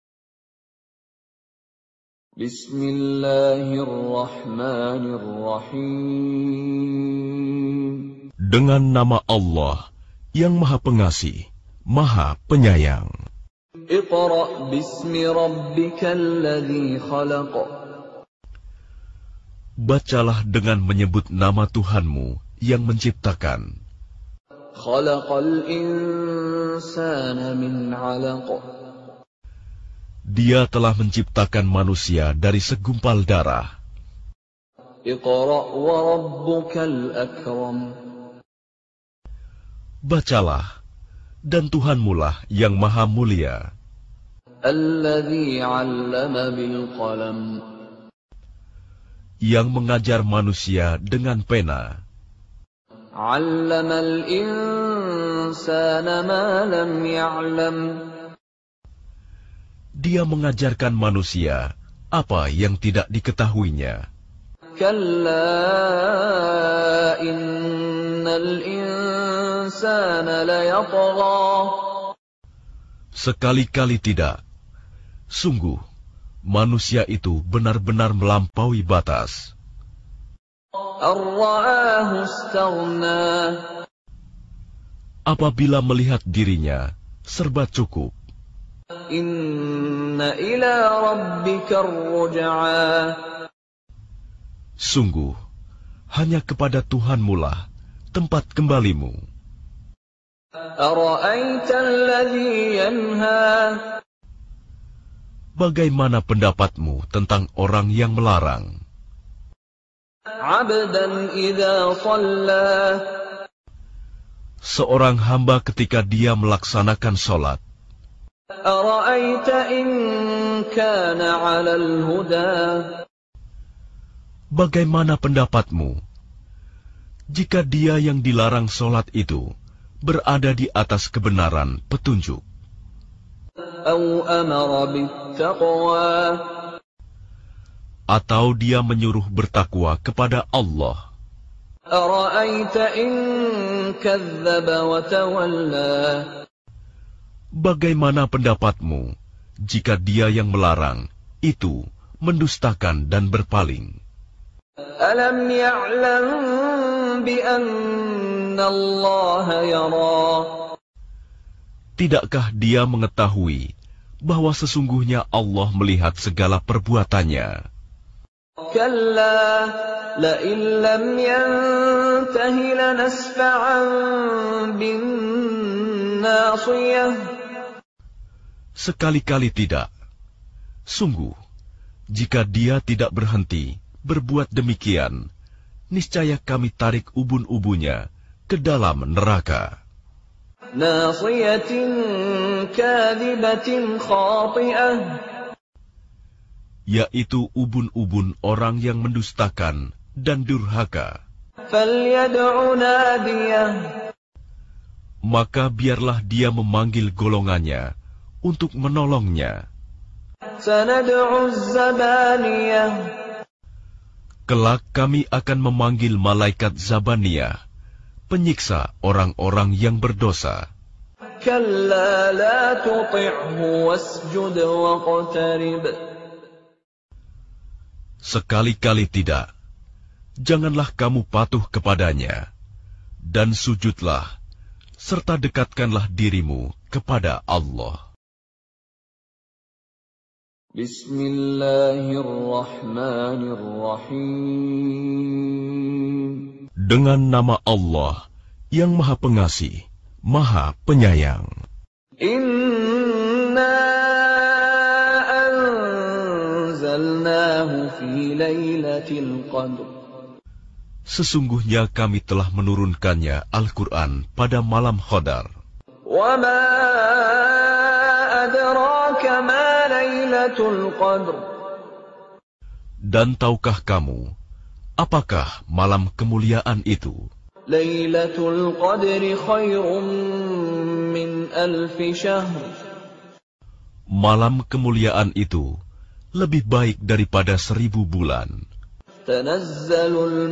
Bismillahirrahmanirrahim. Dengan nama Allah yang Maha Pengasih, Maha Penyayang. Iqra' bismi rabbikal ladzi khalaq. Bacalah dengan menyebut nama Tuhanmu yang menciptakan. Khalaqal insana min 'alaq. Dia telah menciptakan manusia dari segumpal darah. Iqra' wa rabbukal akram. Bacalah, dan Tuhanmulah yang maha mulia. Alladzi 'allama bil qalam. Yang mengajar manusia dengan pena. 'Allamal insana ma lam ya'lam. Dia mengajarkan manusia apa yang tidak diketahuinya. كلا إن الإنسان ليطغى Sekali-kali tidak. Sungguh, manusia itu benar-benar melampaui batas. أن رآه استغنى Apabila melihat dirinya, serba cukup. إن إلى ربك الرجعى Sungguh, hanya kepada Tuhanmu lah tempat kembalimu. أرأيت الذي ينهى Bagaimana pendapatmu tentang orang yang melarang? عبدا إذا صلى Seorang hamba ketika dia melaksanakan sholat. أرأيت إن كان على الهدى Bagaimana pendapatmu jika dia yang dilarang sholat itu berada di atas kebenaran petunjuk? أو أمر بالتقوى Atau dia menyuruh bertakwa kepada Allah? أرأيت إن كذب وتولى Bagaimana pendapatmu jika dia yang melarang itu mendustakan dan berpaling? ألم يعلم بأن الله يرى Tidakkah dia mengetahui bahwa sesungguhnya Allah melihat segala perbuatannya? كلا لئن لم ينته لنسفعا بالناصية Sekali-kali tidak. Sungguh, jika dia tidak berhenti berbuat demikian, niscaya kami tarik ubun-ubunnya ke dalam neraka. ناصية كاذبة خاطئة Yaitu ubun-ubun orang yang mendustakan dan durhaka. فليدع ناديه Maka biarlah dia memanggil golongannya untuk menolongnya. سندع الزبانية Kelak kami akan memanggil malaikat Zabaniyah, penyiksa orang-orang yang berdosa. كلا لا تطعه واسجد واقترب Sekali-kali tidak. Janganlah kamu patuh kepadanya, dan sujudlah, serta dekatkanlah dirimu kepada Allah. Bismillahirrahmanirrahim. Dengan nama Allah yang Maha Pengasih, Maha Penyayang. Inna anzalnahu fi lailatul qadr. Sesungguhnya kami telah menurunkannya Al-Quran pada malam Qadar. Wa ma adraka ma lailatul qadr. Dan tahukah kamu, apakah malam kemuliaan itu? Lailatul qadri khairum min alfi syahr. Malam kemuliaan itu lebih baik daripada seribu bulan. Tanazzalul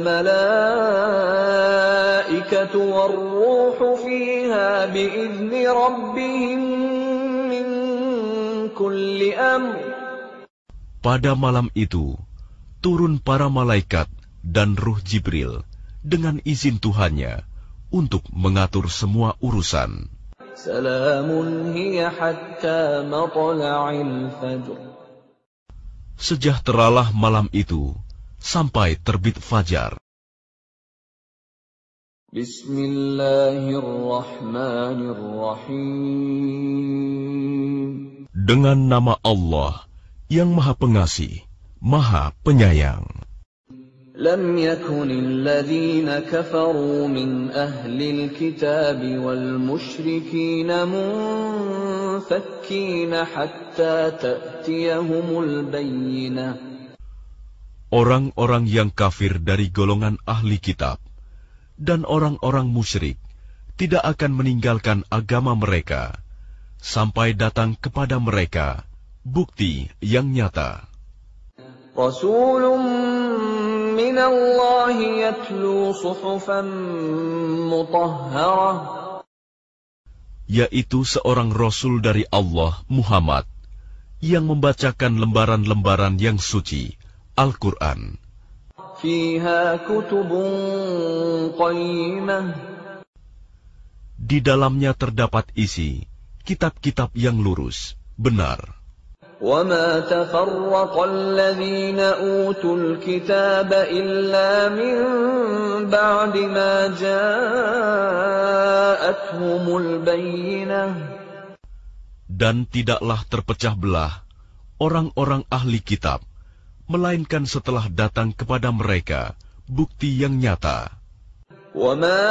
malaikatu war-ruhu fiha bi'izni rabbihim min kulli amr. Pada malam itu turun para malaikat dan Ruh Jibril dengan izin Tuhannya untuk mengatur semua urusan. Salamun hiya hatta matla'il fajr. Sejahteralah malam itu sampai terbit fajar. Bismillahirrahmanirrahim. Dengan nama Allah yang Maha Pengasih, Maha Penyayang. لم يكن الذين كفروا من أهل الكتاب والمشركين منفكين حتى تأتيهم البينة. Orang-orang yang kafir dari golongan ahli kitab dan orang-orang musyrik tidak akan meninggalkan agama mereka sampai datang kepada mereka bukti yang nyata. رسول من الله يتلو صحفا مطهرة yaitu seorang Rasul dari Allah, Muhammad, yang membacakan lembaran-lembaran yang suci, Al-Quran. فيها كتب قيمة Di dalamnya terdapat isi kitab-kitab yang lurus, benar. وما تفرق الذين أوتوا الكتاب إلا من بعد ما جاءتهم البينة. Dan tidaklah terpecah belah orang-orang ahli kitab, melainkan setelah datang kepada mereka bukti yang nyata. وما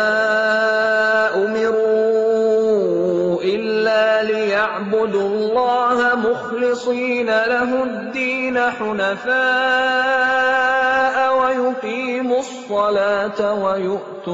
أمروا إلا ليعبدوا الله مخلصين له الدين حنفاء ويقيموا الصلاة ويؤتوا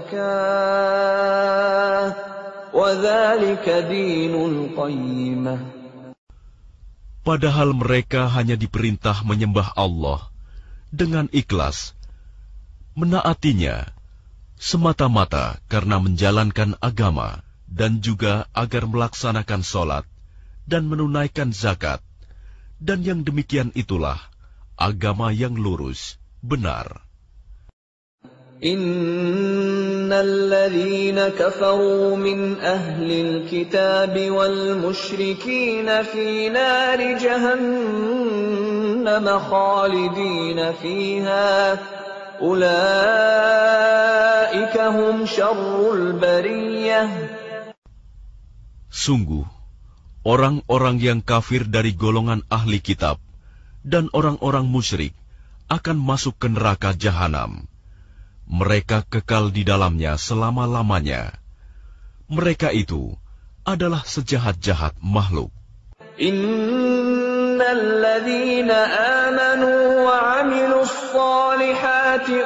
الزكاة وذلك دين القيمة. Padahal mereka hanya diperintah menyembah Allah dengan ikhlas, menaatinya semata-mata karena menjalankan agama, dan juga agar melaksanakan sholat dan menunaikan zakat, dan yang demikian itulah agama yang lurus, benar. Innal ladzina kafaru min ahlil kitab wal musyrikin fi nari jahannam khalidin fiha ulaika hum syarrul bariyah. Sungguh, orang-orang yang kafir dari golongan ahli kitab dan orang-orang musyrik akan masuk ke neraka jahanam. Mereka kekal di dalamnya selama-lamanya. Mereka itu adalah sejahat-jahat makhluk. Innal ladzina amanu wa 'amilus shalihati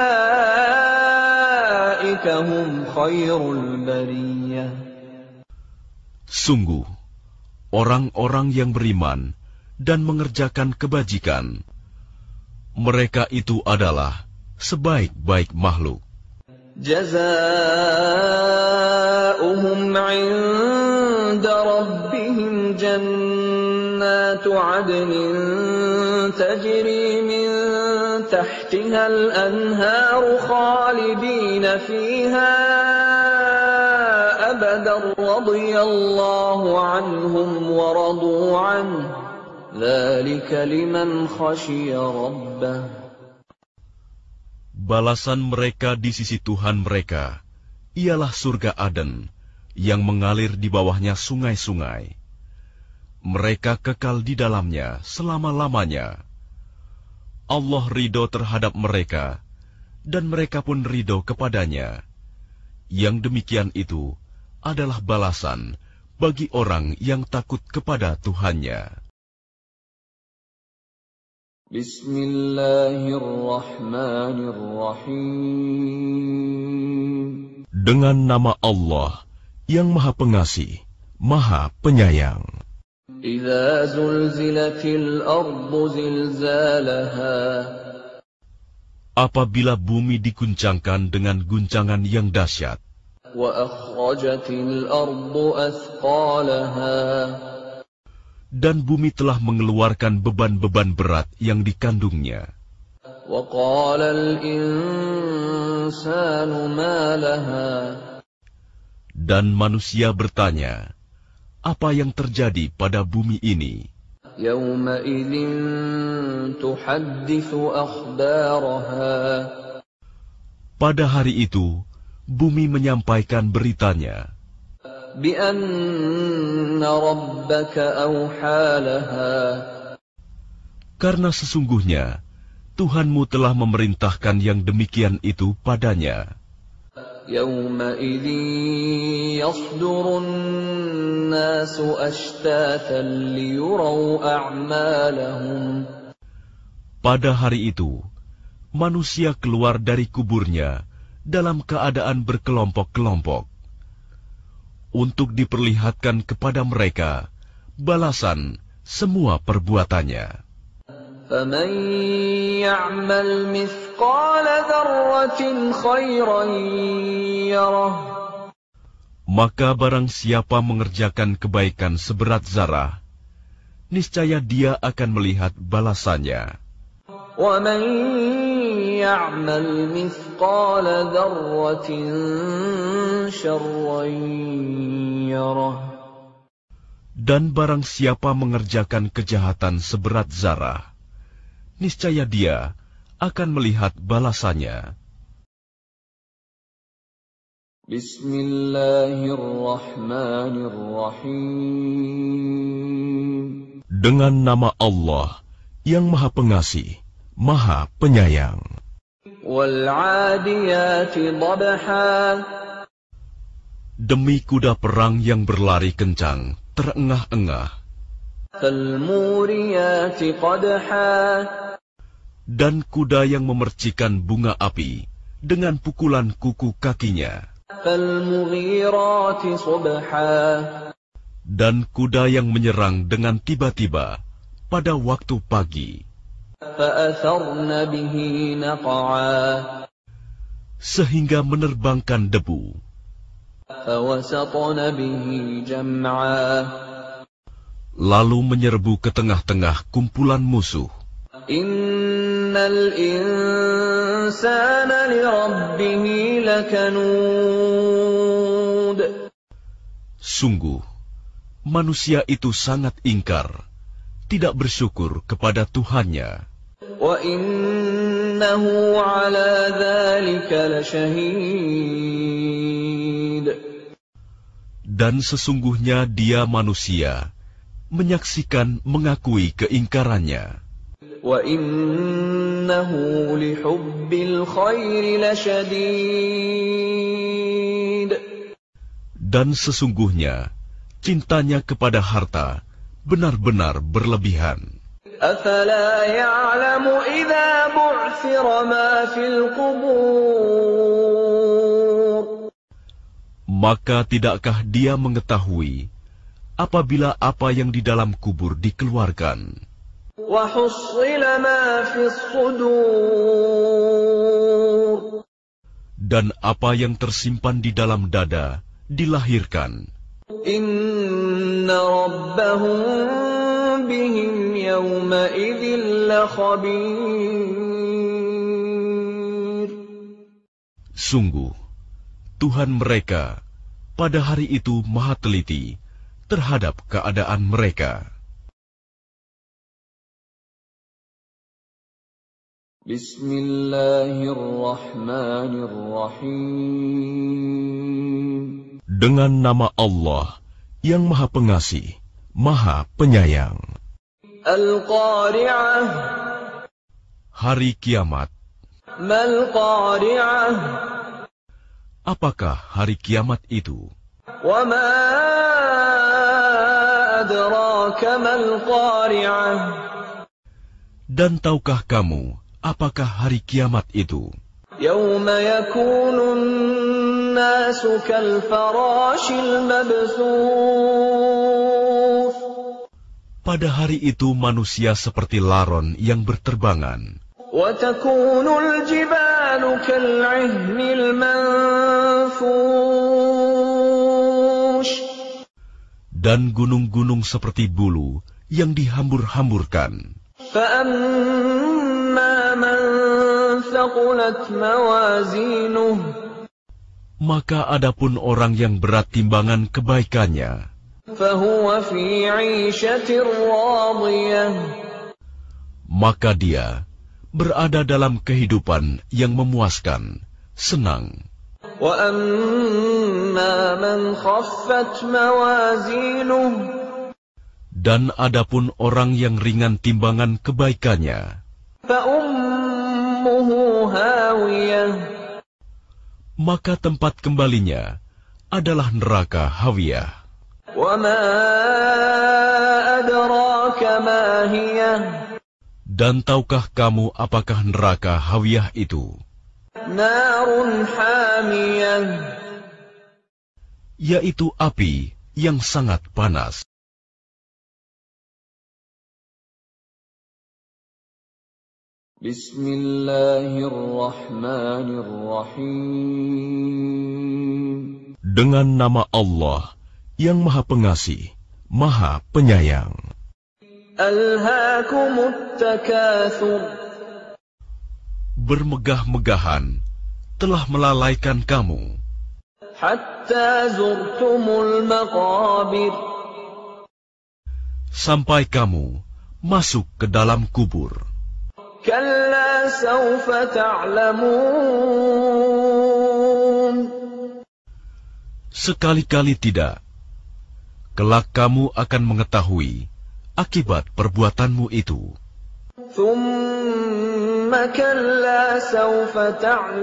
ulaika hum khairul bariyah. Sungguh, orang-orang yang beriman dan mengerjakan kebajikan, mereka itu adalah sebaik-baik makhluk. Jazaohum 'inda rabbihim jannatu 'adnin tajri min tahtiha al-anharu khalidina fiha abadan radiyallahu 'anhum wa radu 'anhu dzalika liman khashiya rabbah. Balasan mereka di sisi Tuhan mereka ialah surga Aden yang mengalir di bawahnya sungai-sungai. Mereka kekal di dalamnya selama-lamanya. Allah ridho terhadap mereka, dan mereka pun ridho kepadanya. Yang demikian itu adalah balasan bagi orang yang takut kepada Tuhannya. Bismillahirrahmanirrahim. Dengan nama Allah yang Maha Pengasih, Maha Penyayang. Idza zulzilatil ardu zilzalaha. Apabila bumi diguncangkan dengan guncangan yang dahsyat. Wa akhrajatil ardu athqalaha. Dan bumi telah mengeluarkan beban-beban berat yang dikandungnya. وَقَالَ الْإِنسَانُ مَا لَهَا. Dan manusia bertanya, apa yang terjadi pada bumi ini? يَوْمَئِذٍ تُحَدِّثُ أَخْبَارَهَا. Pada hari itu, bumi menyampaikan beritanya. بِأَنَّ رَبَّكَ أَوْحَى لَهَا. Karena sesungguhnya Tuhanmu telah memerintahkan yang demikian itu padanya. يَوْمَئِذٍ يَصْدُرُ النَّاسُ أَشْتَاتًا لِيُرَوْا أَعْمَالَهُمْ. Pada hari itu, manusia keluar dari kuburnya dalam keadaan berkelompok-kelompok, untuk diperlihatkan kepada mereka balasan semua perbuatannya. فَمَن يَعْمَلْ مِثْقَالَ ذَرَّةٍ خَيْرًا يَرَهُ. Maka barang siapa mengerjakan kebaikan seberat zarah, niscaya dia akan melihat balasannya. وَمَن يَعْمَلْ مِثْقَالَ ذَرَّةٍ شَرًّا يَرَهُ. Dan barang siapa mengerjakan kejahatan seberat zarah, niscaya dia akan melihat balasannya. Bismillahirrahmanirrahim. Dengan nama Allah yang Maha Pengasih, Maha Penyayang. Wal-'adiyati dhabha. Demi kuda perang yang berlari kencang, terengah-engah. Fal-muriyati qadha. Dan kuda yang memercikan bunga api dengan pukulan kuku kakinya. Fal-mughirati subha. Dan kuda yang menyerang dengan tiba-tiba pada waktu pagi. Fa'atharna bihi naq'a. Sehingga menerbangkan debu. Fawasatna bihi jam'a. Lalu menyerbu ke tengah-tengah kumpulan musuh. Innal insana li rabbih lakanud. Sungguh, manusia itu sangat ingkar, tidak bersyukur kepada Tuhannya. Wa innahu ala dzalika lasyahid. Dan sesungguhnya dia manusia, menyaksikan, mengakui keingkarannya. Wa innahu lihubbil khairi lasyadid. Dan sesungguhnya cintanya kepada harta benar-benar berlebihan. Afala ya'lamu idza bu'thira ma fil qubur. Maka tidakkah dia mengetahui apabila apa yang di dalam kubur dikeluarkan? Wa hussila ma fis sudur. Dan apa yang tersimpan di dalam dada dilahirkan. Inna rabbahum bihim yawma idzin lakhabir. Sungguh, Tuhan mereka pada hari itu maha teliti terhadap keadaan mereka. Bismillahirrahmanirrahim. Dengan nama Allah yang Maha Pengasih, Maha Penyayang. Al-Qari'ah. Hari kiamat. Mal-Qari'ah. Apakah hari kiamat itu? Wa ma adraka mal-Qari'ah. Dan tahukah kamu apakah hari kiamat itu? Yawma yakunun nasu kal-farashil mabthuth. Pada hari itu manusia seperti laron yang berterbangan. Wa takunul jibalu kal-'ihnil manfush. Dan gunung-gunung seperti bulu yang dihambur-hamburkan. فَأَمَّا مَنْ ثَقُلَتْ مَوَازِينُهُ. Maka adapun orang yang berat timbangan kebaikannya, فَهُوَ فِي عِيشَةٍ رَاضِيَةٍ. maka dia berada dalam kehidupan yang memuaskan, senang. وَأَمَّا مَنْ خَفَّتْ مَوَازِينُهُ. Dan adapun orang yang ringan timbangan kebaikannya, فَأُمُّهُ هَاوِيَةٌ. maka tempat kembalinya adalah neraka Hawiyah. وَمَا أَدْرَاكَ مَا هِيَهْ. Dan tahukah kamu apakah neraka Hawiyah itu? نَارٌ حَامِيَةٌ. Yaitu api yang sangat panas. Bismillahirrahmanirrahim. Dengan nama Allah yang Maha Pengasih, Maha Penyayang. Alhaakumut takatsur. Bermegah-megahan telah melalaikan kamu. Hatta zurtumul maqabir. Sampai kamu masuk ke dalam kubur. Kalla sawfa ta'lamun. Sekali-kali tidak. Kelak kamu akan mengetahui akibat perbuatanmu itu. Thumma kalla sawfa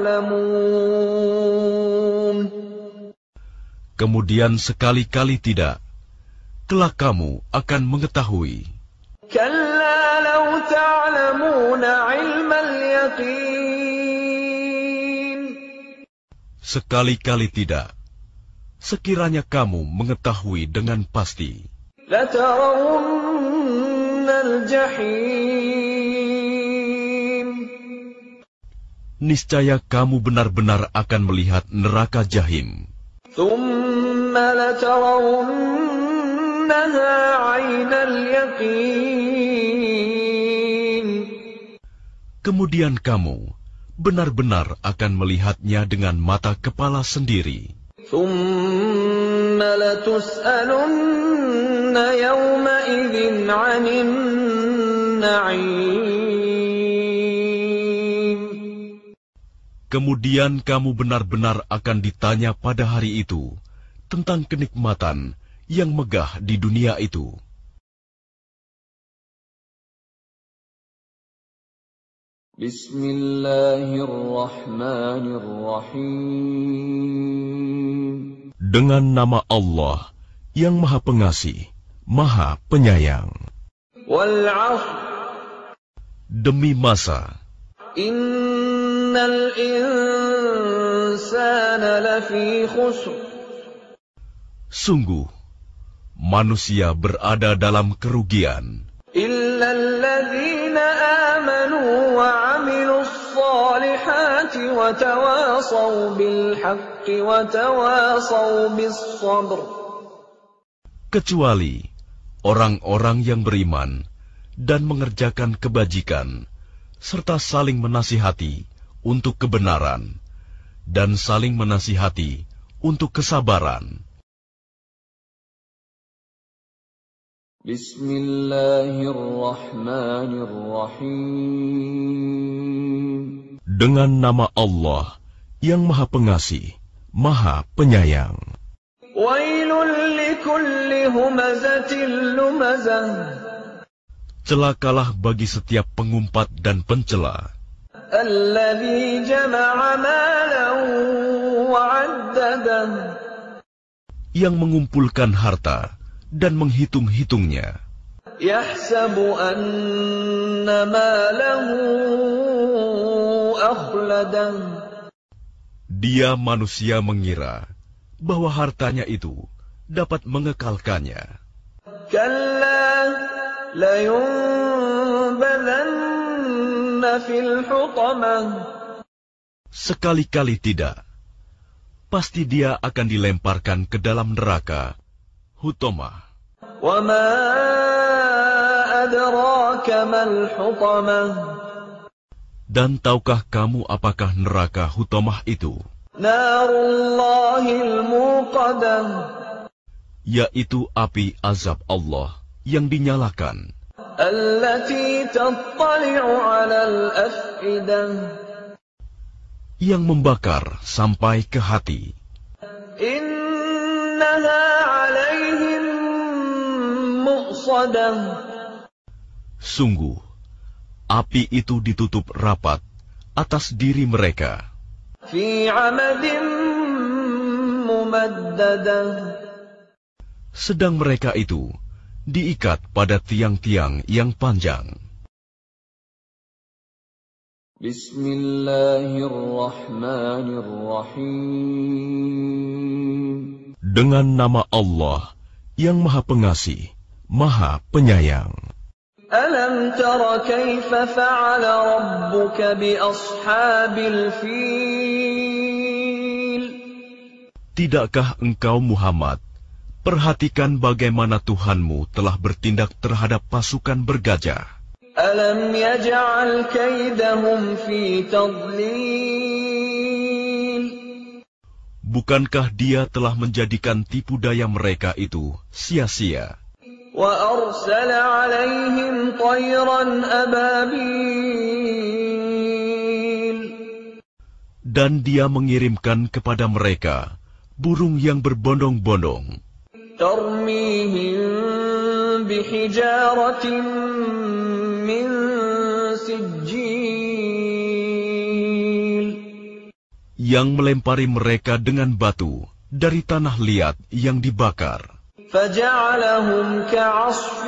ta'lamun. Kemudian sekali-kali tidak. Kelak kamu akan mengetahui. Kalla law ta'lamuna 'ilmal yaqin. Sekali-kali tidak. Sekiranya kamu mengetahui dengan pasti. Latarawunnal jahim. Niscaya kamu benar-benar akan melihat neraka jahim. Thumma latarawunnaha 'ainal yaqin. Kemudian kamu benar-benar akan melihatnya dengan mata kepala sendiri. Thumma latus'alunna yawma idzin 'anin na'im. Kemudian kamu benar-benar akan ditanya pada hari itu tentang kenikmatan yang megah di dunia itu. Bismillahirrahmanirrahim. Dengan nama Allah yang Maha Pengasih, Maha Penyayang. Wal 'ashr. Demi masa. Innal insana lafi khusr. Sungguh, manusia berada dalam kerugian. Illa alladzina amanu wa 'amilus salihati wa tawasaw bil haqqi wa tawasaw bis sabr. Kecuali orang-orang yang beriman dan mengerjakan kebajikan, serta saling menasihati untuk kebenaran, dan saling menasihati untuk kesabaran. Bismillahirrahmanirrahim. Dengan nama Allah yang Maha Pengasih, Maha Penyayang. Wailul likulli humazatil lumazah. Celakalah bagi setiap pengumpat dan pencela. Alladzi jama'a malan wa 'addadah. Yang mengumpulkan harta dan menghitung-hitungnya. Yahsabu anna malahu akhladah. Dia manusia mengira bahwa hartanya itu dapat mengekalkannya. Kalla layunbadanna fil hutamah. Sekali-kali tidak. Pasti dia akan dilemparkan ke dalam neraka, Hutamah. Wa ma adraka mal hutamah. Dan tahukah kamu apakah neraka Hutamah itu? Narullahil muqadah. Yaitu api azab Allah yang dinyalakan. Allati tattali'u 'alal af'idah. Yang membakar sampai ke hati. Innaha 'alaihim mu'sadah. Sungguh, api itu ditutup rapat atas diri mereka. Fi 'amadin mumaddadah. Sedang mereka itu diikat pada tiang-tiang yang panjang. Bismillahirrahmanirrahim. Dengan nama Allah yang Maha Pengasih, Maha Penyayang. ألم تر كيف فعل ربك بأصحاب الفيل Tidakkah engkau Muhammad perhatikan bagaimana Tuhanmu telah bertindak terhadap pasukan bergajah? ألم يجعل كيدهم في تضليل Bukankah Dia telah menjadikan tipu daya mereka itu sia-sia? وَأَرْسَلَ عَلَيْهِمْ طَيْرًا أَبَابِيلَ Dan Dia mengirimkan kepada mereka burung yang berbondong-bondong, تَرْمِيهِمْ بِحِجَارَةٍ مِّن سِجِّيلٍ yang melempari mereka dengan batu dari tanah liat yang dibakar. فَجَعَلَهُمْ كَعَصْفٍ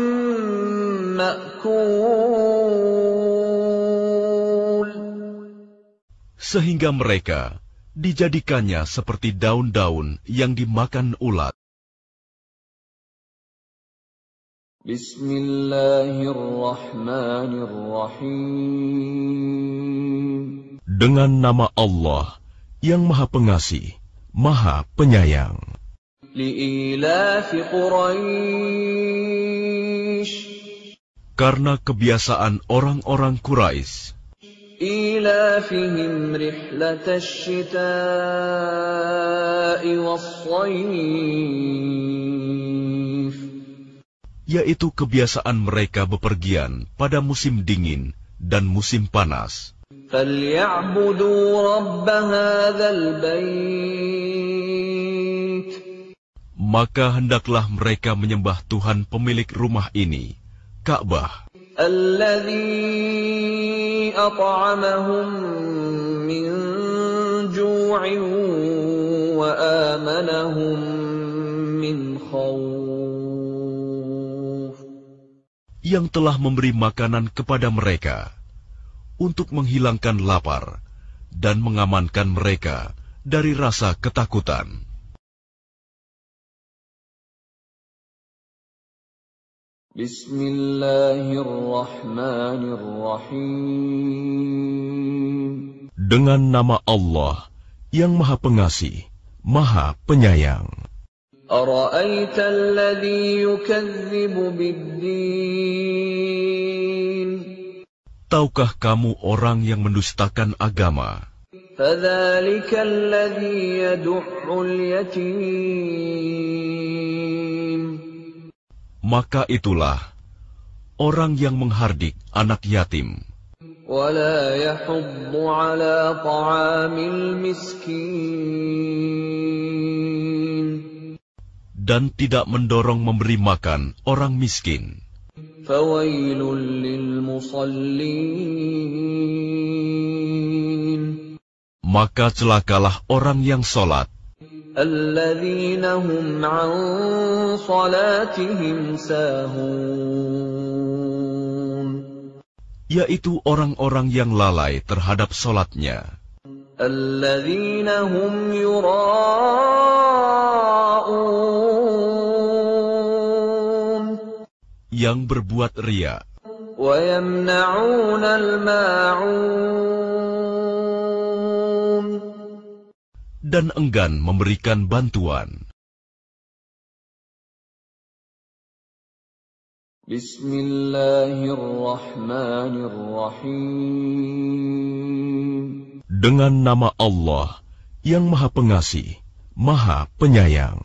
مَّأْكُولٍ Sehingga mereka dijadikannya seperti daun-daun yang dimakan ulat. Bismillahirrahmanirrahim. Dengan nama Allah yang Maha Pengasih, Maha Penyayang. Li'ilafi Quraisy, karena kebiasaan orang-orang Quraisy, ilafihim rihlatash shita'i was-shayf, yaitu kebiasaan mereka bepergian pada musim dingin dan musim panas. فَلْيَعْبُدُوا رَبَّ هَذَا الْبَيْتِ, maka hendaklah mereka menyembah Tuhan pemilik rumah ini, Ka'bah, الَّذِي أَطْعَمَهُم مِّن جُوعٍ وَآمَنَهُم مِّنْ خَوْفٍ, yang telah memberi makanan kepada mereka untuk menghilangkan lapar dan mengamankan mereka dari rasa ketakutan. Bismillahirrahmanirrahim. Dengan nama Allah yang Maha Pengasih, Maha Penyayang. أَرَأَيْتَ الَّذِي يُكَذِّبُ بِالدِّينِ, tahukah kamu orang yang mendustakan agama? فَذَلِكَ الَّذِي يَدُعُّ الْيَتِيمَ, maka itulah orang yang menghardik anak yatim, وَلَا يَحُضُّ عَلَى طَعَامِ الْمِسْكِينِ, dan tidak mendorong memberi makan orang miskin. فَوَيْلٌ لِّلْمُصَلِّينَ, maka celakalah orang yang sholat, الَّذِينَ هُمْ عَن صَلَاتِهِمْ سَاهُونَ, yaitu orang-orang yang lalai terhadap sholatnya, الَّذِينَ هُمْ يُرَاءُونَ, yang berbuat riya, وَيَمْنَعُونَ الْمَاعُونَ, dan enggan memberikan bantuan. Bismillahirrahmanirrahim. Dengan nama Allah yang Maha Pengasih, Maha Penyayang.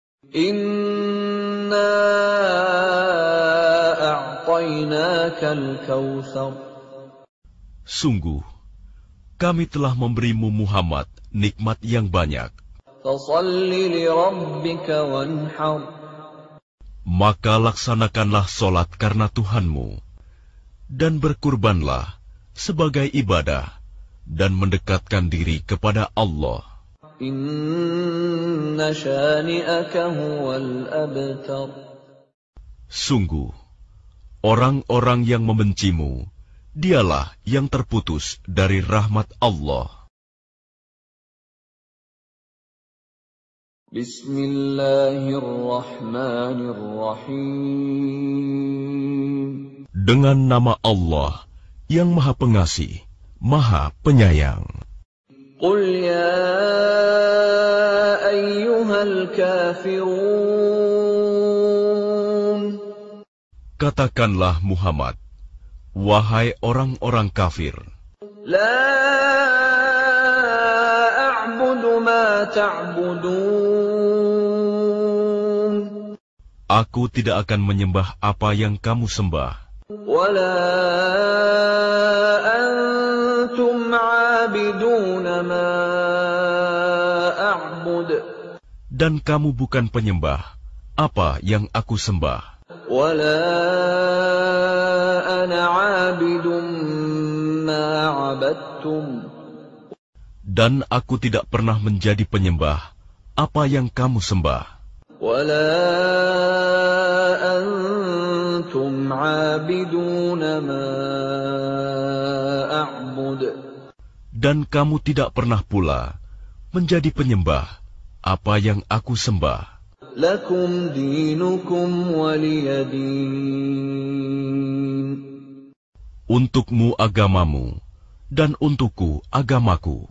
Inna a'tainakal kautsar, sungguh kami telah memberimu Muhammad nikmat yang banyak. Fasalli li rabbika wanhar, maka laksanakanlah solat karena Tuhanmu, dan berkurbanlah sebagai ibadah dan mendekatkan diri kepada Allah. Inna syani'aka huwal abtar, sungguh orang-orang yang membencimu, dialah yang terputus dari rahmat Allah. Bismillahirrahmanirrahim. Dengan nama Allah yang Maha Pengasih, Maha Penyayang. Qul ya ayyuhal kafirun. Katakanlah Muhammad, wahai orang-orang kafir. La a'budu ma ta'budun. Aku tidak akan menyembah apa yang kamu sembah. Wala antum 'abiduna ma a'bud. Dan kamu bukan penyembah apa yang aku sembah. Wala ana 'abidun ma 'abadtum. Dan aku tidak pernah menjadi penyembah apa yang kamu sembah. Wala antum 'abiduna ma a'bud. Dan kamu tidak pernah pula menjadi penyembah apa yang aku sembah. Lakum dinukum waliyadin. Untukmu agamamu, dan untukku agamaku.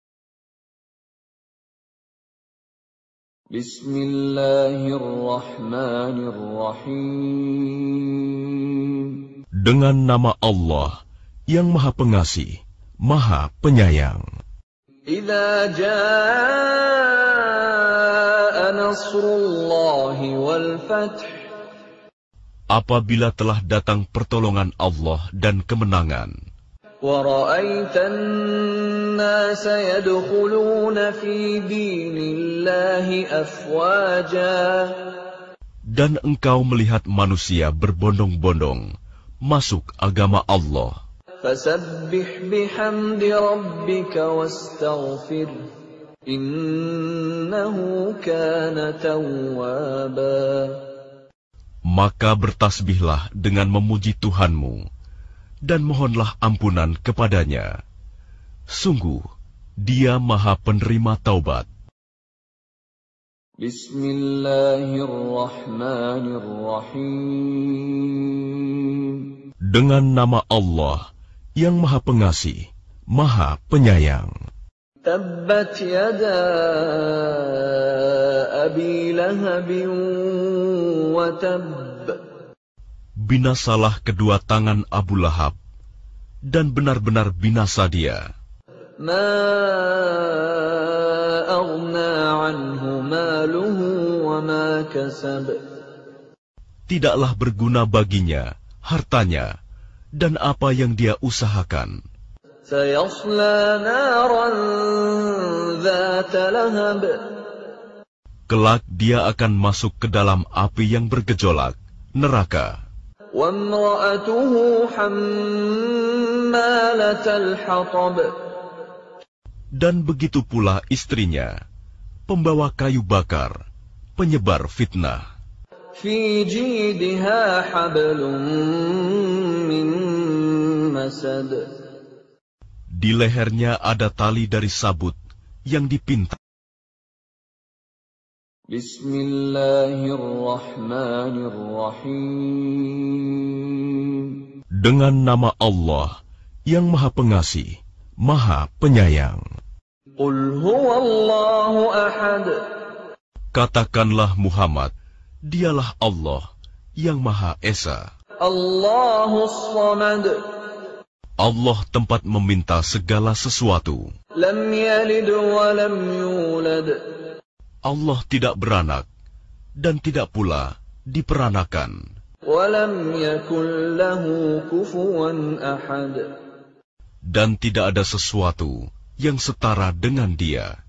Bismillahirrahmanirrahim. Dengan nama Allah yang Maha Pengasih, Maha Penyayang. Idza jaa nasrullahi wal fath. Apabila telah datang pertolongan Allah dan kemenangan. Wa ra'aitan nasa yadkhuluna fi dinillahi afwaja. Dan engkau melihat manusia berbondong-bondong masuk agama Allah. Fasabbih bihamdi rabbika wastaghfir. Innahu kana tawwaba. Maka bertasbihlah dengan memuji Tuhanmu, dan mohonlah ampunan kepadanya. Sungguh, Dia Maha Penerima Taubat. Bismillahirrahmanirrahim. Dengan nama Allah yang Maha Pengasih, Maha Penyayang. Tabbat yada Abi Lahabin wa tabb. Binasalah kedua tangan Abu Lahab, dan benar-benar binasa dia. Ma aghna anhu maluhu wa ma kasab. Tidaklah berguna baginya hartanya dan apa yang dia usahakan. Sayasla naran dhata lahab. Kelak dia akan masuk ke dalam api yang bergejolak, neraka. Wa imra'atuhu hammalatal hatab. Dan begitu pula istrinya, pembawa kayu bakar, penyebar fitnah. Fi jidha hablum min masad. Di lehernya ada tali dari sabut yang dipintal. Bismillahirrahmanirrahim. Dengan nama Allah yang Maha Pengasih, Maha Penyayang. Qul huwallahu ahad. Katakanlah Muhammad, Dialah Allah yang Maha Esa. Allahus samad. Allah tempat meminta segala sesuatu. Lam yalid wa lam yulad. Allah tidak beranak dan tidak pula diperanakan. Wa lam yakul lahu kufuwan ahad. Dan tidak ada sesuatu yang setara dengan Dia.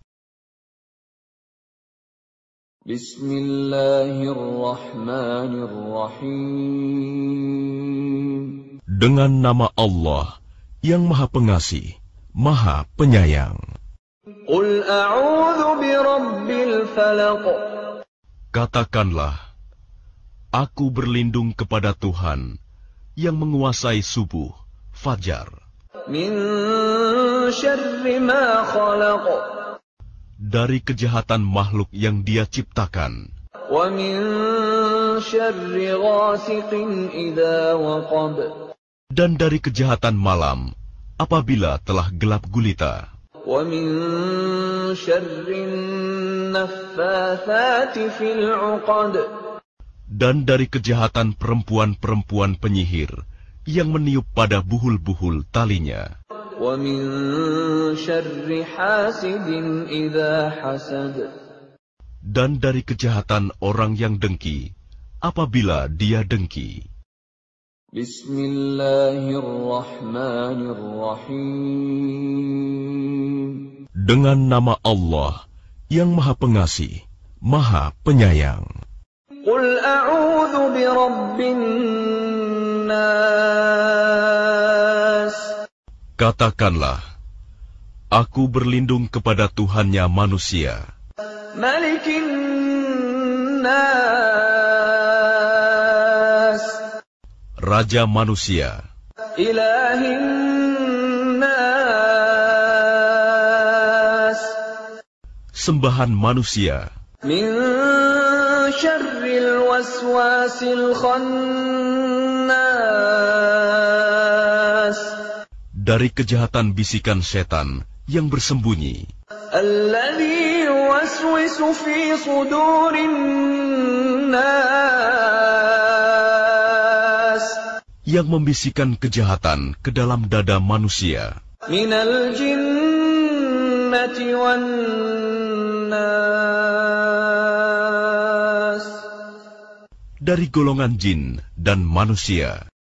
Bismillahirrahmanirrahim. Dengan nama Allah yang Maha Pengasih, Maha Penyayang. Qul a'udzu birabbil falaq. Katakanlah, aku berlindung kepada Tuhan yang menguasai subuh, fajar. Min syarri ma khalaq. Dari kejahatan makhluk yang Dia ciptakan. Wa min شر غاسق إذا وقب Dan dari kejahatan malam apabila telah gelap gulita. ومن شر النفاثات في العقد Dan dari kejahatan perempuan-perempuan penyihir yang meniup pada buhul-buhul talinya. ومن شر حاسد إذا حسد Dan dari kejahatan orang yang dengki apabila dia dengki. Bismillahirrahmanirrahim. Dengan nama Allah yang Maha Pengasih, Maha Penyayang. Qul a'udzu birabbin nas. Katakanlah, aku berlindung kepada Tuhannya manusia. Malikin nas. Raja manusia. Ilahin nas. Sembahan manusia. Min syarril waswasil khannas. Dari kejahatan bisikan setan yang bersembunyi. Alladzi yuwaswisu fi sudurin nas. Yang membisikkan kejahatan ke dalam dada manusia. Minal jinnati wan nas. Dari golongan jin dan manusia.